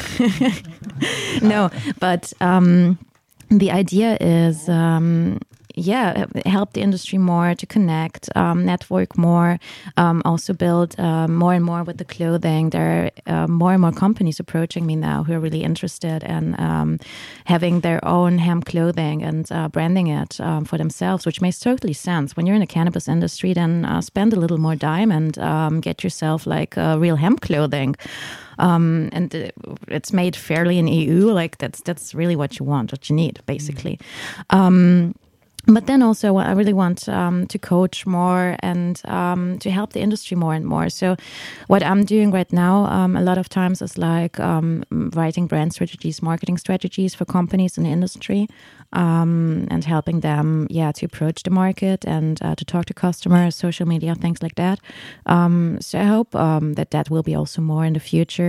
no, but um, the idea is, um, yeah, help the industry more to connect, um, network more, um, also build uh, more and more with the clothing. There are uh, more and more companies approaching me now who are really interested in um, having their own hemp clothing and uh, branding it um, for themselves, which makes totally sense. When you're in the cannabis industry, then uh, spend a little more time and um, get yourself like uh, real hemp clothing. Um, and uh, it's made fairly in E U. Like that's that's really what you want, what you need, basically. Um, But then also, I really want um, to coach more and um, to help the industry more and more. So what I'm doing right now, um, a lot of times is like um, writing brand strategies, marketing strategies for companies in the industry, um, and helping them, yeah, to approach the market and uh, to talk to customers, social media, things like that. Um, so I hope um, that that will be also more in the future.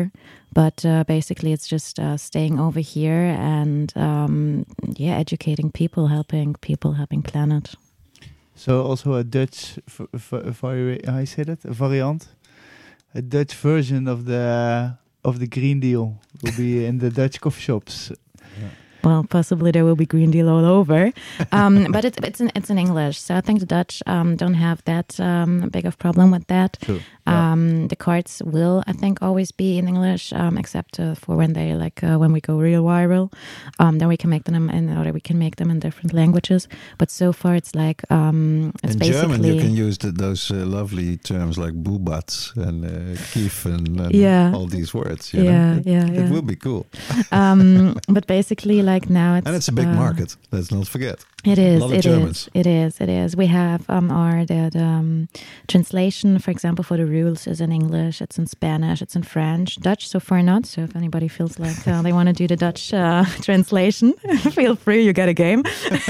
But uh, basically, it's just uh, staying over here and um, yeah, educating people, helping people, helping planet. So also a Dutch, v- v- vari- how you say that? A variant, a Dutch version of the of the Green Deal will be in the Dutch coffee shops. Well, possibly there will be Green Deal all over, um, but it's it's in it's in English, so I think the Dutch um, don't have that um, big of problem with that. True. Yeah. Um, the cards will, I think, always be in English, um, except uh, for when they like uh, when we go real viral. Um, then we can make them in, or we can make them in different languages. But so far, it's like um, it's In basically German, you can use the, those uh, lovely terms like bubatz and uh, kiefen and Yeah. all these words. You yeah, know? yeah, It yeah. will be cool. um, but basically, like now, it's And it's a big uh, market. Let's not forget. It A is. lot of It Germans. is. It is. It is. We have um, our the, the um, translation, for example, for the rules is in English. It's in Spanish. It's in French. Dutch so far not. So if anybody feels like uh, they want to do the Dutch uh, translation, feel free. You get a game.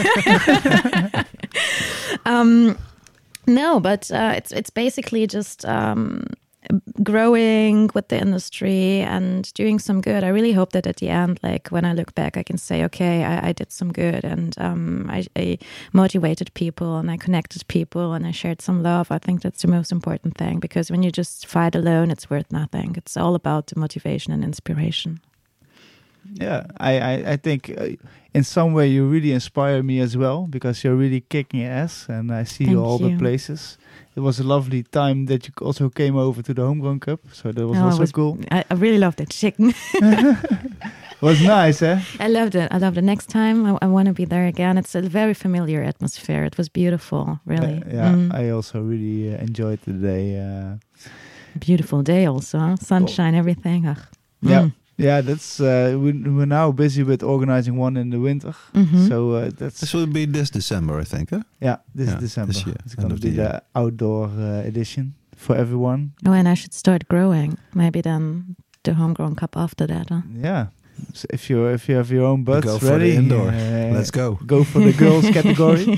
um, no, but uh, it's it's basically just. Um, growing with the industry and doing some good. I really hope that at the end, like when I look back, I can say, okay, I, I did some good and um, I, I motivated people and I connected people and I shared some love. I think that's the most important thing, because when you just fight alone, it's worth nothing. It's all about the motivation and inspiration. Yeah, I, I, I think uh, in some way you really inspire me as well, because you're really kicking ass and I see you Thank all you. the places. It was a lovely time that you also came over to the Homegrown Cup, so that was Oh, it also was- cool. I, I really loved it. Chicken. It was nice, eh? I loved it. I loved it. Next time, I, I want to be there again. It's a very familiar atmosphere. It was beautiful, really. Uh, yeah, Mm. I also really uh, enjoyed the day. Uh, Beautiful day also. Huh? Sunshine, everything. Ugh. Yeah. Mm. yeah, that's uh, we, we're now busy with organizing one in the winter. Mhm. So uh, that's This will be this December, I think. Huh? yeah, this Yeah, is December. this year, It's end gonna of be the the, year. outdoor uh, edition for everyone. Oh, and I should start growing. Maybe then the homegrown cup after that. Huh? Yeah. So if you if you have your own butts go for the ready, indoor. uh, Let's go. Go for the girls category.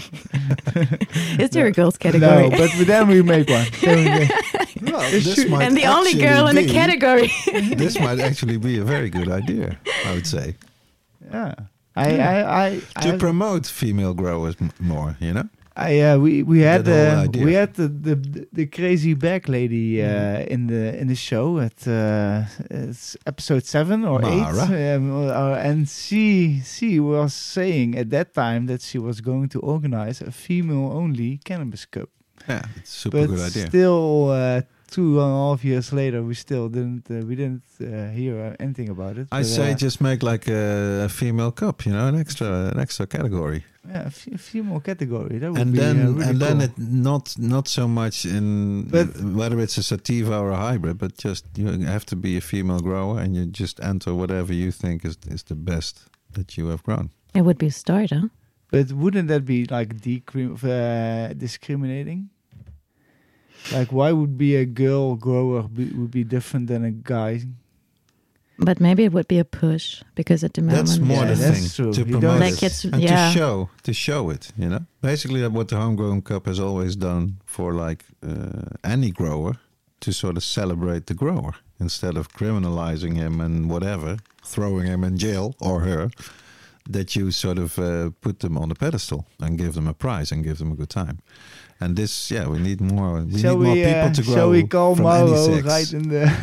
Is there a No. girls category? No, but then we make one. Then we make- Well, This this should- might and the only actually girl in the be- category. This might actually be a very good idea, I would say. yeah. I I I To I, promote female growers m- more, you know? I uh, we we had That whole uh, idea. we had the, the the crazy back lady uh, in the in the show at uh, it's episode seven or Mara. eight, um, uh, and she she was saying at that time that she was going to organize a female only cannabis cup, Yeah, it's a super but good idea. still uh, two and a half years later we still didn't uh, we didn't uh, hear anything about it. I But, say uh, just make like a, a female cup, you know, an extra an extra category. yeah, a f- a female category that would And be then uh, really and then cool. it not not so much in But- whether it's a sativa or a hybrid, but just you have to be a female grower and you just enter whatever you think is is the best that you have grown. It would be a start, huh? But wouldn't that be like decrim- uh, discriminating? Like, why would be a girl grower be, would be different than a guy? But maybe it would be a push, because at the moment, That's more Yeah, the that's thing true. to You promote don't- Like it it's- and yeah. to show to show it. You know, basically that what the Homegrown Cup has always done for like uh, any grower, to sort of celebrate the grower instead of criminalizing him and whatever, throwing him in jail or her. That you sort of uh, put them on a pedestal and give them a prize and give them a good time. And this, yeah, we need more. We shall need more we? people Uh, to grow shall we call from any Mauro sex. right in the?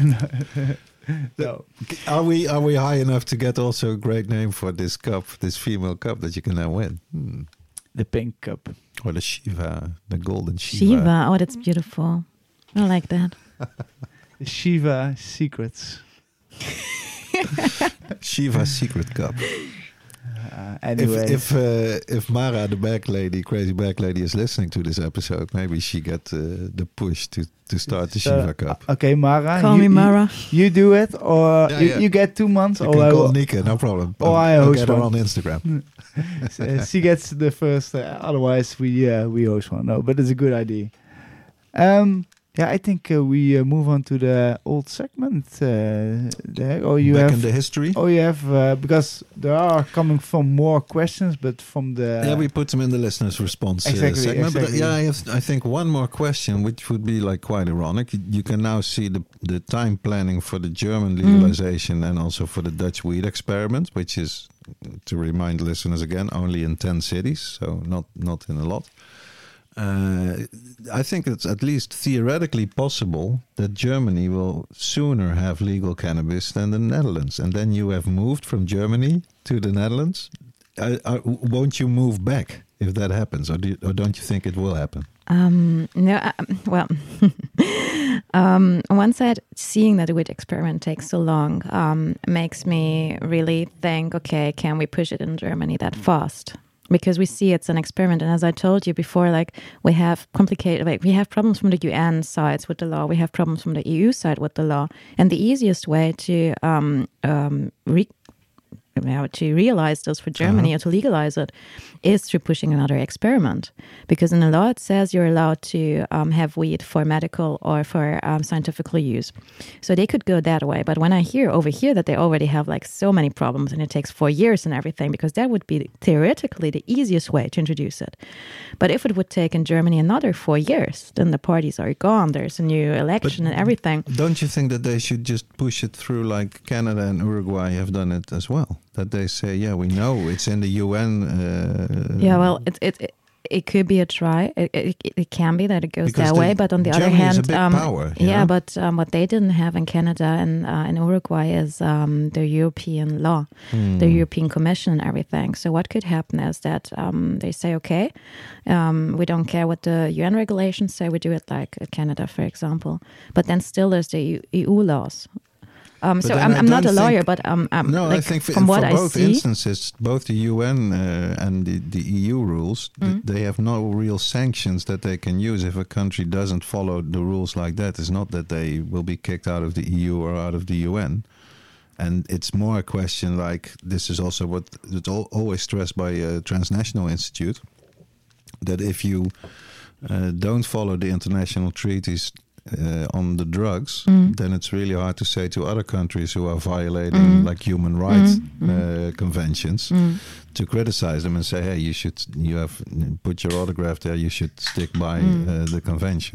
no. Are we are we high enough to get also a great name for this cup, this female cup that you can now win? Hmm. The pink cup. Or the Shiva, the golden Shiva. Shiva. Oh, that's beautiful. I like that. The Shiva secrets. Shiva Secret Cup. Uh, anyway, If if uh, if Mara, the back lady, crazy back lady, is listening to this episode, maybe she get uh, the push to to start the Shiva Cup. okay, Mara. Call you, me you- Mara. You, do it, or Yeah, you, yeah. you get two months, You or can I call will, Nika, no problem. Oh, I'll, I I'll host get her one. on Instagram. uh, she gets the first. Uh, otherwise, we uh, we host one. No, but it's a good idea. Um, Yeah, I think uh, we uh, move on to the old segment. Uh, there. Or you Back have, in the history. Oh, you have uh, because there are coming from more questions, but from the yeah, we put them in the listeners' response uh, exactly, segment. Exactly. But uh, yeah, I have, I think, one more question, which would be like quite ironic. You, you can now see the the time planning for the German legalization mm. and also for the Dutch weed experiment, which is, to remind listeners again, only in ten cities, so not not in a lot. Uh, I think it's at least theoretically possible that Germany will sooner have legal cannabis than the Netherlands. And then you have moved from Germany to the Netherlands. Uh, uh, won't you move back if that happens? Or, do you, or don't you think it will happen? Um, no, uh, well, um, on one side, seeing that the weed experiment takes so long um, makes me really think, okay, can we push it in Germany that fast? Because we see it's an experiment, and as I told you before, like we have complicated, like we have problems from the U N sides with the law, we have problems from the E U side with the law, and the easiest way to um, um, re- to realize this for Germany uh-huh. or to legalize it is through pushing another experiment. Because in the law it says you're allowed to um, have weed for medical or for um, scientific use. So they could go that way. But when I hear over here that they already have like so many problems and it takes four years and everything, because that would be theoretically the easiest way to introduce it. But if it would take in Germany another four years, then the parties are gone. There's a new election but and everything. Don't you think that they should just push it through like Canada and Uruguay have done it as well? That they say, yeah, we know it's in the U N. Uh, yeah, well, it it it, it could be a try. It, it it can be that it goes because that the, way, but on the Germany other hand, is a big um, power, yeah, know? but um, what they didn't have in Canada and uh, in Uruguay is um, the European law, hmm. the European Commission, and everything. So what could happen is that um, they say, okay, um, we don't care what the U N regulations say. We do it like Canada, for example. But then still there's the E U laws. Um, so I'm, I'm not a lawyer, but um, um, no, like I think for, from what for I both see, instances, both the U N uh, and the, the E U rules, mm. th- they have no real sanctions that they can use if a country doesn't follow the rules like that. It's not that they will be kicked out of the E U or out of the U N. And it's more a question like, this is also what it's al- always stressed by a transnational institute, that if you uh, don't follow the international treaties Uh, on the drugs, mm. then it's really hard to say to other countries who are violating mm. like human rights mm. uh, conventions mm. to criticize them and say, hey, you should, you have put your autograph there, you should stick by mm. uh, the convention.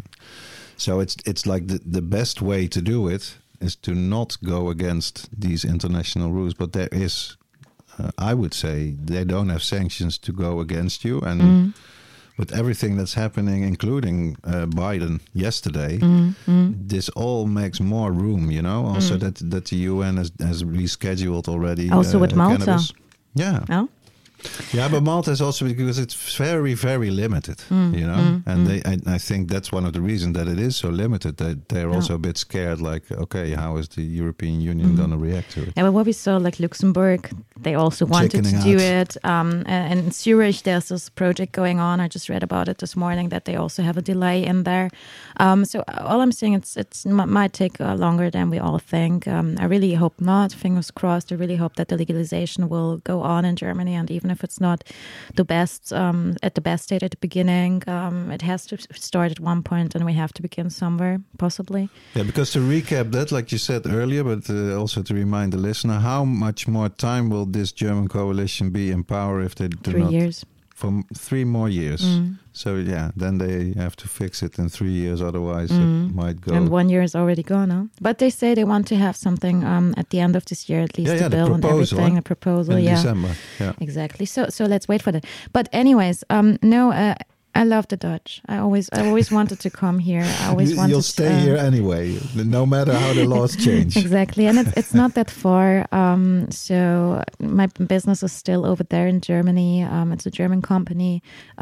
So it's it's like the, the best way to do it is to not go against these international rules, but there is, uh, I would say, they don't have sanctions to go against you. And mm. with everything that's happening, including uh, Biden yesterday, mm, mm. this all makes more room, you know. Also, mm. that that the U N has, has rescheduled already. Also uh, with Malta. Cannabis. Yeah. Oh? Yeah, but Malta is also because it's very, very limited, mm, you know. Mm, and mm. they, I, I think that's one of the reasons that it is so limited. That they're yeah. also a bit scared. Like, okay, how is the European Union mm. going to react to it? Yeah, but what we saw, like Luxembourg, they also wanted Chickening to do out. it. Um, and in Zurich, there's this project going on. I just read about it this morning that they also have a delay in there. Um, so all I'm saying, it's it's m- might take uh, longer than we all think. Um, I really hope not. Fingers crossed. I really hope that the legalization will go on in Germany, and even if it's not the best um, at the best state at the beginning, um, it has to start at one point, and we have to begin somewhere, possibly. Yeah, because to recap that, like you said earlier, but uh, also to remind the listener, how much more time will this German coalition be in power if they do Three not? years. For m- three more years. Mm. So yeah, then they have to fix it in three years. Otherwise, Mm. it might go. And one year is already gone, huh? But they say they want to have something um, at the end of this year, at least, Yeah, the yeah, the bill and proposal, everything, eh? the proposal. in yeah, December. Yeah. exactly. So, so let's wait for that. But anyways, um, no, uh, I love the Dutch. I always, I always wanted to come here. I always You, wanted. you'll stay uh, here anyway, no matter how the laws change. Exactly, and it's it's not that far. Um, so my business is still over there in Germany. Um, it's a German company.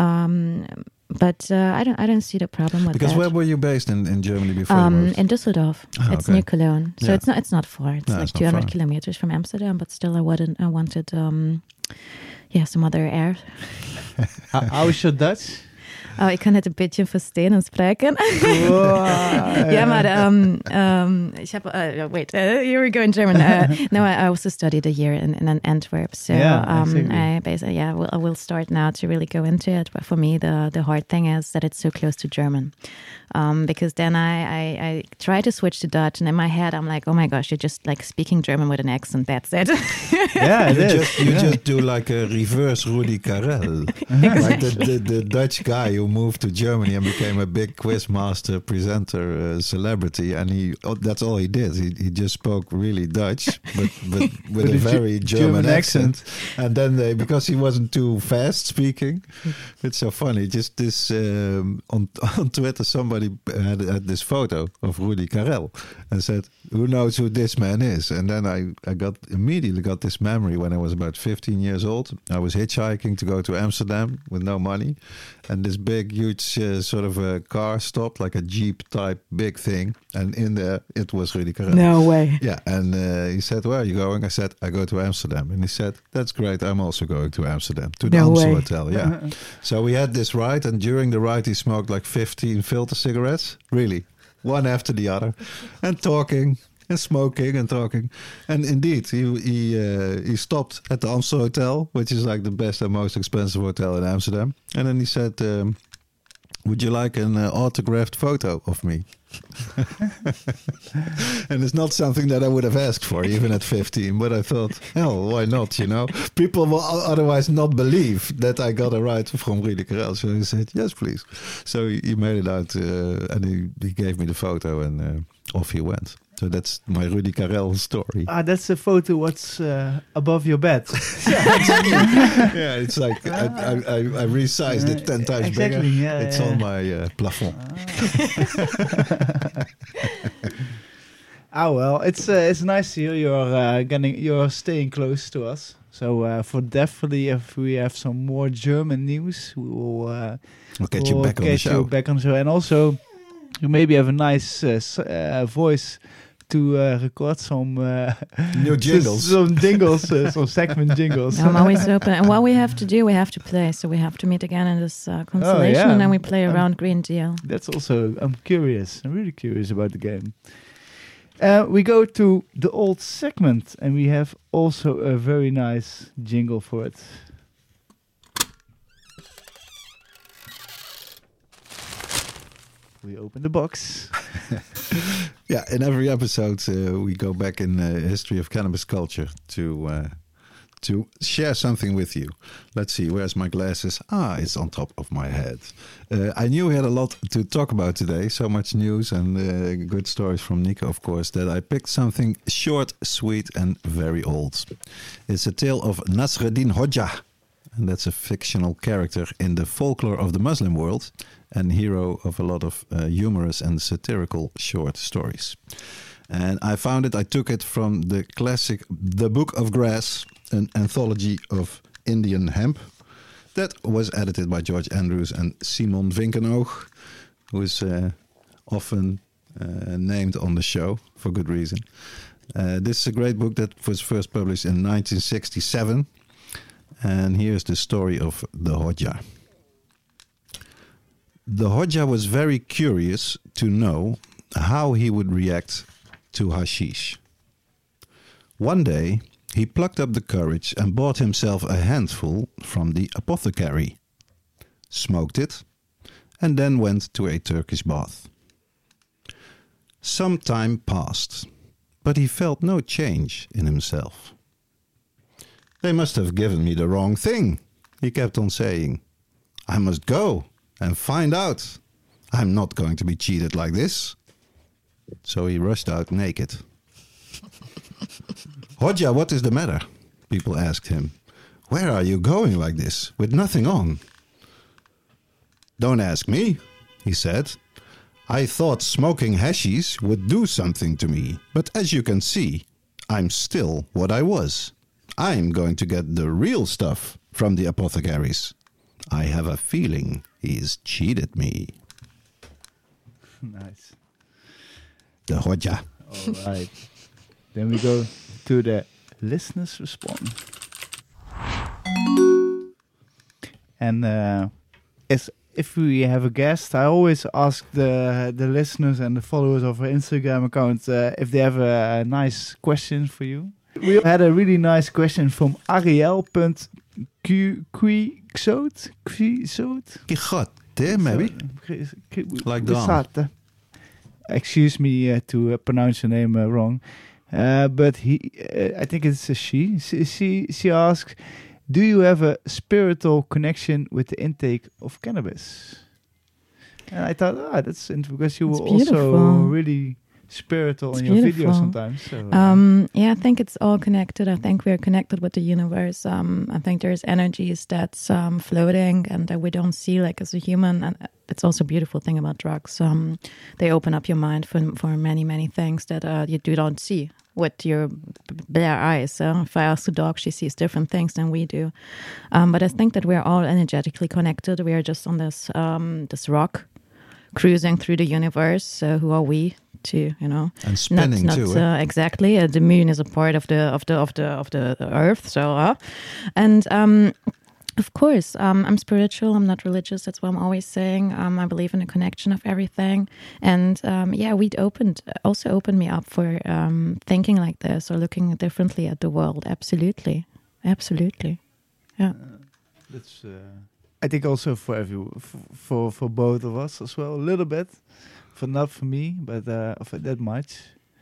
Um, but uh, I don't I don't see the problem with Because that. where were you based in, in Germany before? you Um, moved? in Düsseldorf. Ah, It's okay. near Cologne. So Yeah. it's not it's not far. It's No, like it's not two hundred far. kilometers from Amsterdam, but still I wanted I wanted um yeah, some other air. How, how is your Dutch? Oh, ik kan het een beetje verstaan spreken. Wow. Ja, maar um, um, ik heb, uh, wait, uh, here we go in German. Uh, no, I also studied a year in, in Antwerp, so Yeah, um, exactly. I basically, yeah, will, I will start now to really go into it. But for me, the the hard thing is that it's so close to German, um, because then I, I I try to switch to Dutch, and in my head I'm like, oh my gosh, you're just like speaking German with an accent. That's it. Yeah, it You is. just, you yeah. just do like a reverse Rudi Carell. Like the, the, the Dutch guy who moved to Germany and became a big quizmaster, presenter, uh, celebrity. And he oh, that's all he did. He, he just spoke really Dutch, but, but with With a a very Ge- German, German accent. And then they, because he wasn't too fast speaking, it's so funny. Just this, um, on, on Twitter, somebody had, had this photo of Rudi Carell and said, who knows who this man is? And then I, I got immediately got this memory when I was about fifteen years old. I was hitchhiking to go to Amsterdam with no money. And this big, huge uh, sort of a car stopped, like a Jeep type big thing. And in there, it was Rudi Carell. No way. Yeah, and uh, he said, where are you going? I said, I go to Amsterdam. And he said, that's great, I'm also going to Amsterdam, to the No Amstel way. Hotel, yeah. So we had this ride, and during the ride he smoked like fifteen filter cigarettes, really, one after the other, and talking, and smoking, and talking. And indeed, he he uh, he stopped at the Amstel Hotel, which is like the best and most expensive hotel in Amsterdam. And then he said, um, would you like an uh, autographed photo of me? And it's not something that I would have asked for even at fifteen, but I thought, hell, why not, you know? People will o- otherwise not believe that I got a ride from Rudi Carell. So he said, yes, please. So he, he made it out uh, and he, he gave me the photo, and uh, off he went. So that's my Rudi Carell story. Ah, that's a photo what's uh, above your bed. Yeah, it's like I, I, I, I resized it ten times Exactly, bigger. yeah, it's yeah. on my uh, plafond. Ah, well, it's uh, it's nice to hear you're uh, getting you're staying close to us. So uh, for definitely, if we have some more German news, we will uh, I'll get we'll you back on the get show. you back on the show, and also you maybe have a nice uh, s- uh, voice to uh, record some uh, New jingles. some jingles, uh, some segment jingles. I'm always open. And what we have to do, we have to play. So we have to meet again in this uh, constellation, yeah. and then we play Um, around Green Deal. That's also, I'm curious. I'm really curious about the game. Uh, we go to the old segment, and we have also a very nice jingle for it. We open the box. Yeah, in every episode uh, we go back in the history of cannabis culture to uh, to share something with you. Let's see, where's my glasses? Ah, it's on top of my head. Uh, I knew we had a lot to talk about today, so much news and uh, good stories from Nico, of course, that I picked something short, sweet, and very old. It's a tale of Nasreddin Hodja, and that's a fictional character in the folklore of the Muslim world and hero of a lot of uh, humorous and satirical short stories. And I found it, I took it from the classic The Book of Grass, an anthology of Indian hemp that was edited by George Andrews and Simon Vinkenoog, who is uh, often uh, named on the show for good reason. Uh, this is a great book that was first published in nineteen sixty-seven. And here's the story of the Hodja. The Hodja was very curious to know how he would react to hashish. One day, he plucked up the courage and bought himself a handful from the apothecary, smoked it, and then went to a Turkish bath. Some time passed, but he felt no change in himself. They must have given me the wrong thing, he kept on saying. I must go and find out. I'm not going to be cheated like this. So he rushed out naked. Hodja, what is the matter? People asked him. Where are you going like this, with nothing on? Don't ask me, he said. I thought smoking hashish would do something to me, but as you can see, I'm still what I was. I'm going to get the real stuff from the apothecaries. I have a feeling he's cheated me. Nice. The Hodja. All right. Then we go to the listeners' response. And uh, as if we have a guest, I always ask the the listeners and the followers of our Instagram account uh, if they have a, a nice question for you. We had a really nice question from Ariel.Quixote. Quixote? Quixote, maybe? Like Don. Excuse me uh, to uh, pronounce your name uh, wrong. Uh, but he, uh, I think it's a she. she. She she asks, do you have a spiritual connection with the intake of cannabis? And I thought, ah, that's interesting because you It's were also beautiful. really spiritual It's in your beautiful. videos sometimes. So, uh, Um, yeah, I think it's all connected. I think we're connected with the universe. Um, I think there's energies that's um, floating and that we don't see, like as a human. And it's also a beautiful thing about drugs. Um, they open up your mind for for many many things that uh, you do don't see with your bare eyes. So if I ask the dog, she sees different things than we do. Um, but I think that we're all energetically connected. We are just on this um, this rock, cruising through the universe. So who are we? To you know, And spinning not, too. not, eh? uh, exactly. Uh, the moon is a part of the of the of the of the Earth. So, uh, and um, of course, um, I'm spiritual. I'm not religious. That's what I'm always saying. Um, I believe in the connection of everything. And um, yeah, we'd opened also opened me up for um, thinking like this or looking differently at the world. Absolutely, absolutely. Yeah. that's. Uh, I think also for every for, for for both of us as well, a little bit. For not for me, but uh, for that much.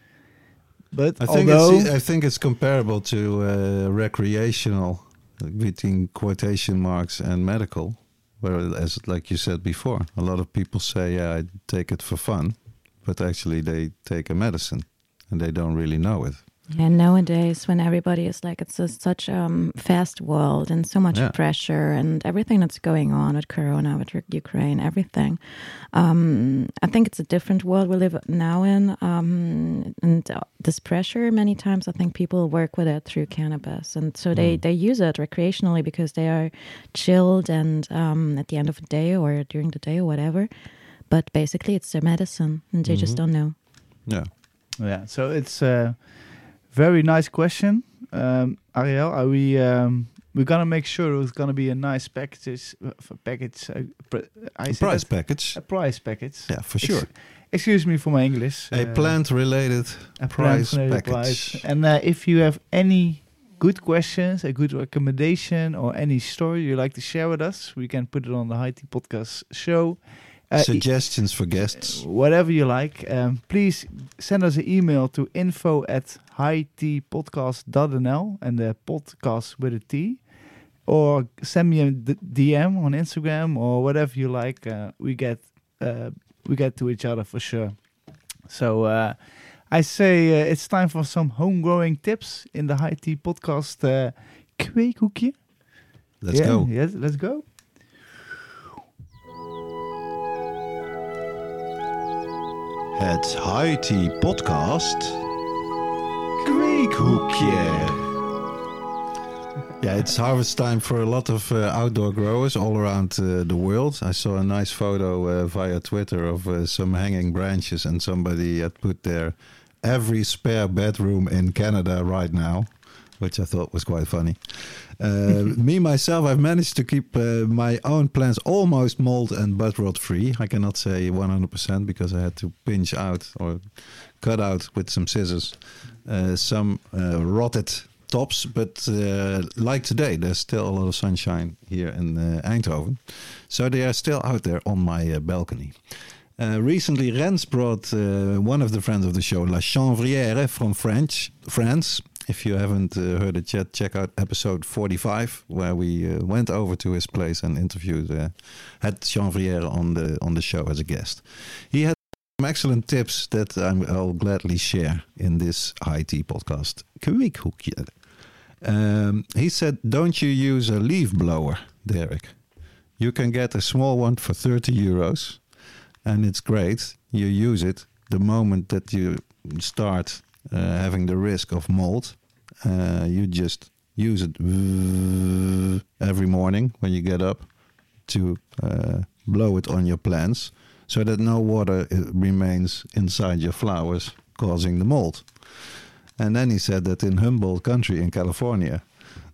But I think although it's I think it's comparable to uh, recreational, between quotation marks, and medical, where, as like you said before, a lot of people say, "Yeah, I take it for fun," but actually they take a medicine, and they don't really know it. Yeah, nowadays when everybody is like, it's a, such a um, fast world and so much Yeah. pressure and everything that's going on with Corona, with U- Ukraine, everything. Um, I think it's a different world we live now in. Um, and uh, this pressure, many times I think people work with it through cannabis. And so they, Mm. they use it recreationally because they are chilled and um, at the end of the day or during the day or whatever. But basically it's their medicine and they just Mhm. don't know. Yeah. yeah, so it's a very nice question, um, Ariel. Are we um, we're gonna make sure it's gonna be a nice package, uh, f- package. Uh, pr- I A say price that? package. a price package. Yeah, for Ex- sure. excuse me for my English. A uh, plant-related a price plant-related package. price. And uh, if you have any good questions, a good recommendation, or any story you like to share with us, we can put it on the High Tea Podcast show. Uh, e- Suggestions for guests. whatever you like, um, please send us an email to info at highteapodcast dot n l and the podcast with a T, or send me a d- D M on Instagram or whatever you like. Uh, we get uh, we get to each other for sure. So uh, I say uh, it's time for some home growing tips in the High Tea Podcast uh, kweekhoekje. Let's Yeah, go. Yes, let's go. Het High Tea Podcast Kweekhoekje. Yeah, it's harvest time for a lot of uh, outdoor growers all around uh, the world. I saw a nice photo uh, via Twitter of uh, some hanging branches, and somebody had put there every spare bedroom in Canada right now, which I thought was quite funny. Uh, me, myself, I've managed to keep uh, my own plants almost mold and bud rot free. I cannot say one hundred percent because I had to pinch out or cut out with some scissors uh, some uh, rotted tops. But uh, like today, there's still a lot of sunshine here in uh, Eindhoven. So they are still out there on my uh, balcony. Uh, recently, Rens brought uh, one of the friends of the show, La Chanvrière from French, France. If you haven't uh, heard it yet, check out episode forty-five, where we uh, went over to his place and interviewed, uh, had Chanvrière on the on the show as a guest. He had some excellent tips that I'm, I'll gladly share in this High Tea Podcast. Kweekhoekje. Um, he said, don't you use a leaf blower, Derek? You can get a small one for thirty euros. And it's great. You use it the moment that you start uh, having the risk of mold. Uh, you just use it every morning when you get up to uh, blow it on your plants so that no water uh, remains inside your flowers causing the mold. And then he said that in Humboldt country in California,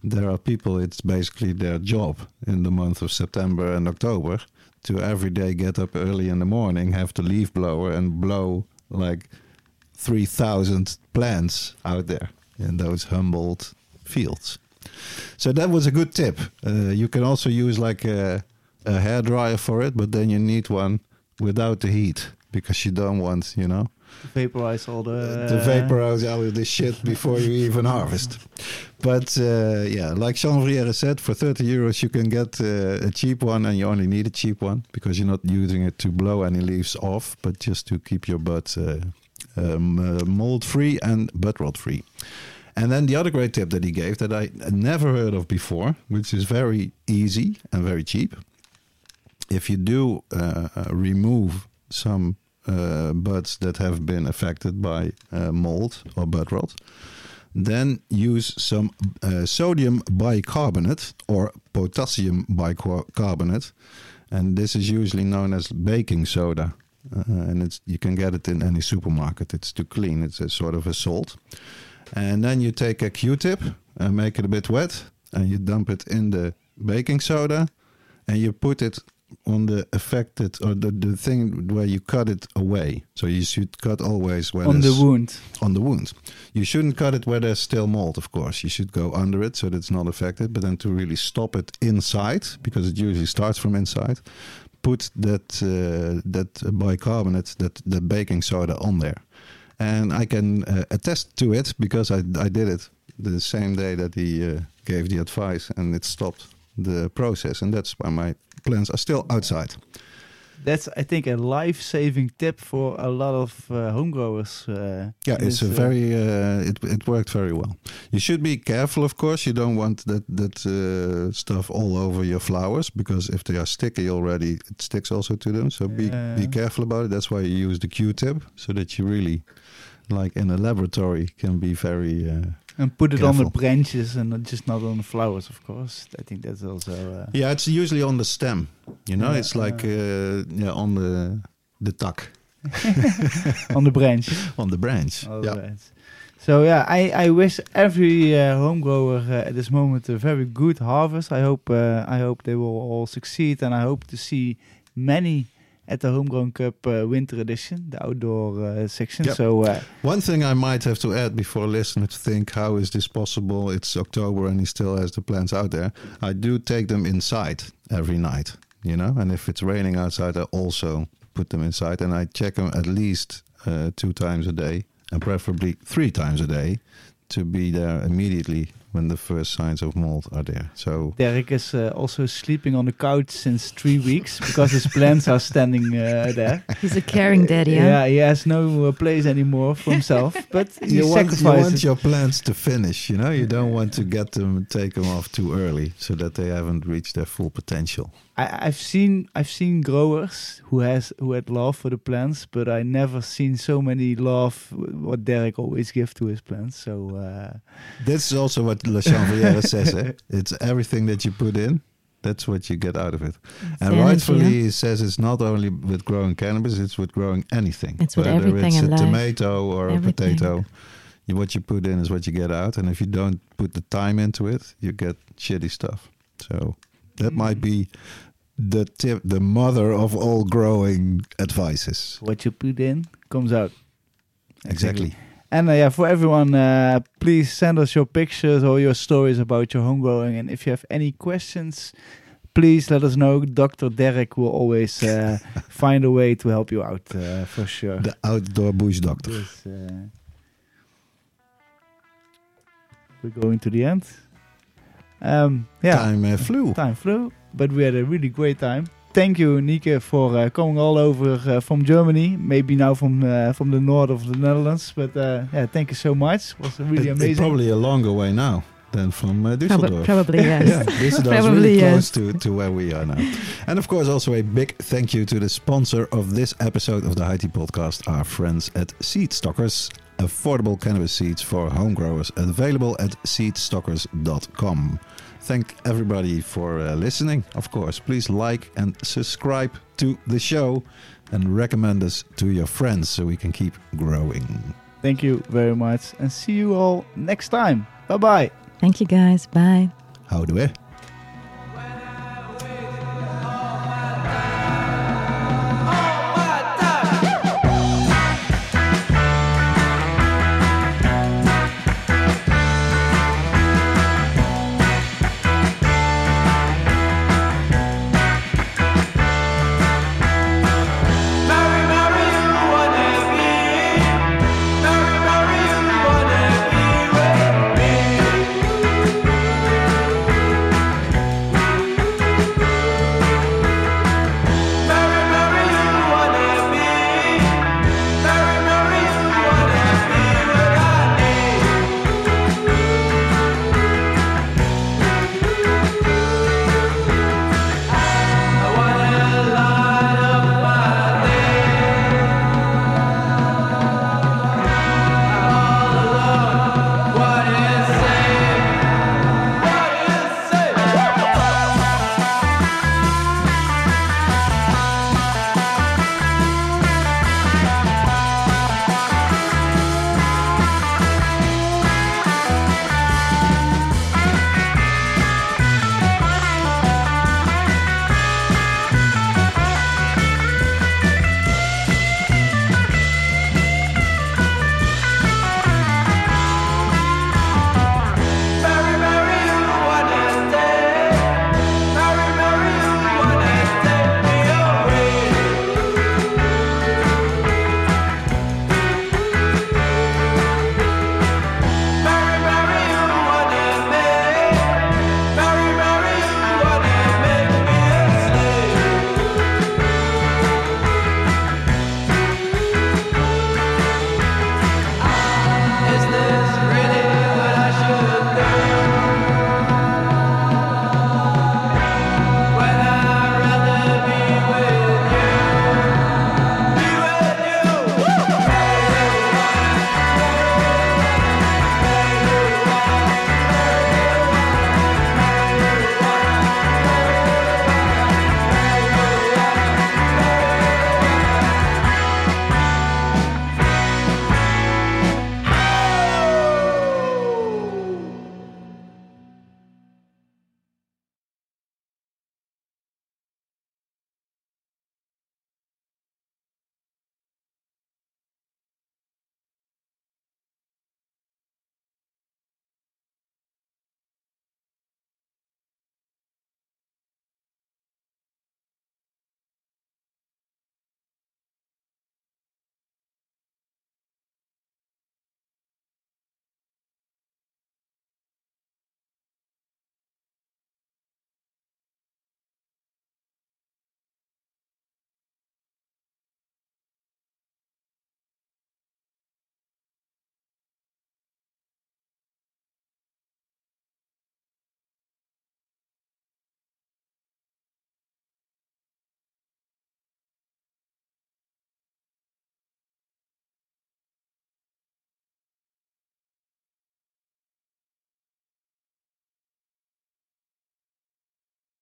there are people, it's basically their job in the month of September and October to every day get up early in the morning, have the leaf blower and blow like three thousand plants out there in those Humboldt fields. So that was a good tip. Uh, you can also use like a, a hairdryer for it, but then you need one without the heat because you don't want, you know, vaporize all the... to vaporize all of this shit before you even harvest. But uh, yeah, like Jean-Vrière said, for thirty euros you can get uh, a cheap one, and you only need a cheap one because you're not using it to blow any leaves off, but just to keep your bud uh, um, uh, mold-free and bud rot-free. And then the other great tip that he gave that I never heard of before, which is very easy and very cheap. If you do uh, uh, remove some uh, buds that have been affected by uh, mold or bud rot, then use some uh, sodium bicarbonate or potassium bicarbonate. And this is usually known as baking soda. Uh, and it's you can get it in any supermarket. It's too clean. It's a sort of a salt. And then you take a Q-tip and make it a bit wet, and you dump it in the baking soda, and you put it on the affected, or the, the thing where you cut it away. So you should cut always where on the wound. On the wound. You shouldn't cut it where there's still mold, of course. You should go under it so that it's not affected, but then to really stop it inside, because it usually starts from inside, put that uh, that bicarbonate, that the baking soda on there. And I can uh, attest to it because I, I did it the same day that he uh, gave the advice, and it stopped the process. And that's why my plants are still outside. That's, I think, a life-saving tip for a lot of uh, home growers. Uh, yeah, it's a very. Uh, it it worked very well. You should be careful, of course. You don't want that that uh, stuff all over your flowers, because if they are sticky already, it sticks also to them. So be uh, be careful about it. That's why you use the Q-tip, so that you really, like in a laboratory, can be very. Uh, And put it careful. on the branches and not just not on the flowers, of course. I think that's also... Uh, yeah, it's usually on the stem. You know, yeah, it's like uh, yeah on the the tuck. on the branch. On the branch. On yeah. the branch. So yeah, I, I wish every uh, home grower uh, at this moment a very good harvest. I hope uh, I hope they will all succeed, and I hope to see many at the Homegrown Cup uh, Winter Edition, the outdoor uh, section. Yep. So uh, one thing I might have to add before listeners think, how is this possible? It's October and he still has the plants out there. I do take them inside every night, you know, and if it's raining outside, I also put them inside, and I check them at least uh, two times a day, and preferably three times a day, to be there immediately when the first signs of mold are there. So Derek is uh, also sleeping on the couch since three weeks because his plants are standing uh, there. He's a caring daddy, huh? Yeah, he has no uh, place anymore for himself, but he you want, you sacrifices. want your plants to finish, you know. You don't want to get them, take them off too early, so that they haven't reached their full potential. I, I've seen I've seen growers who has who had love for the plants, but I never seen so many love what Derek always gives to his plants. So uh, that's also what La Chanvrière says. Eh? It's everything that you put in, that's what you get out of it. It's and energy, rightfully, huh? he says it's not only with growing cannabis; it's with growing anything. It's with Whether everything it's in a life. tomato or Everything. a potato. You, what you put in is what you get out, and if you don't put the time into it, you get shitty stuff. So that Mm. might be the tip, the mother of all growing advices. what you put in comes out. Exactly. And uh, yeah, for everyone, uh, please send us your pictures or your stories about your home growing. And if you have any questions, please let us know. Doctor Derek will always uh, find a way to help you out, uh, for sure. The outdoor bush doctor. Yes, uh, we're going to the end. Um, yeah, Time uh, flew. time flew, but we had a really great time. Thank you, Nieke, for uh, coming all over uh, from Germany. Maybe now from uh, from the north of the Netherlands, but uh, yeah, thank you so much. It was really It- amazing. It's probably a longer way now than from uh, Prob- Düsseldorf. probably, yes. Yeah, Düsseldorf is Probably, really yes. close to, to where we are now. And of course, also a big thank you to the sponsor of this episode of the High Tea Podcast, our friends at Seed Stockers. Affordable cannabis seeds for home growers, available at seed stockers dot com. Thank everybody for uh, listening. Of course, please like and subscribe to the show and recommend us to your friends so we can keep growing. Thank you very much, and see you all next time. Bye bye. Thank you, guys. Bye. Houdoe.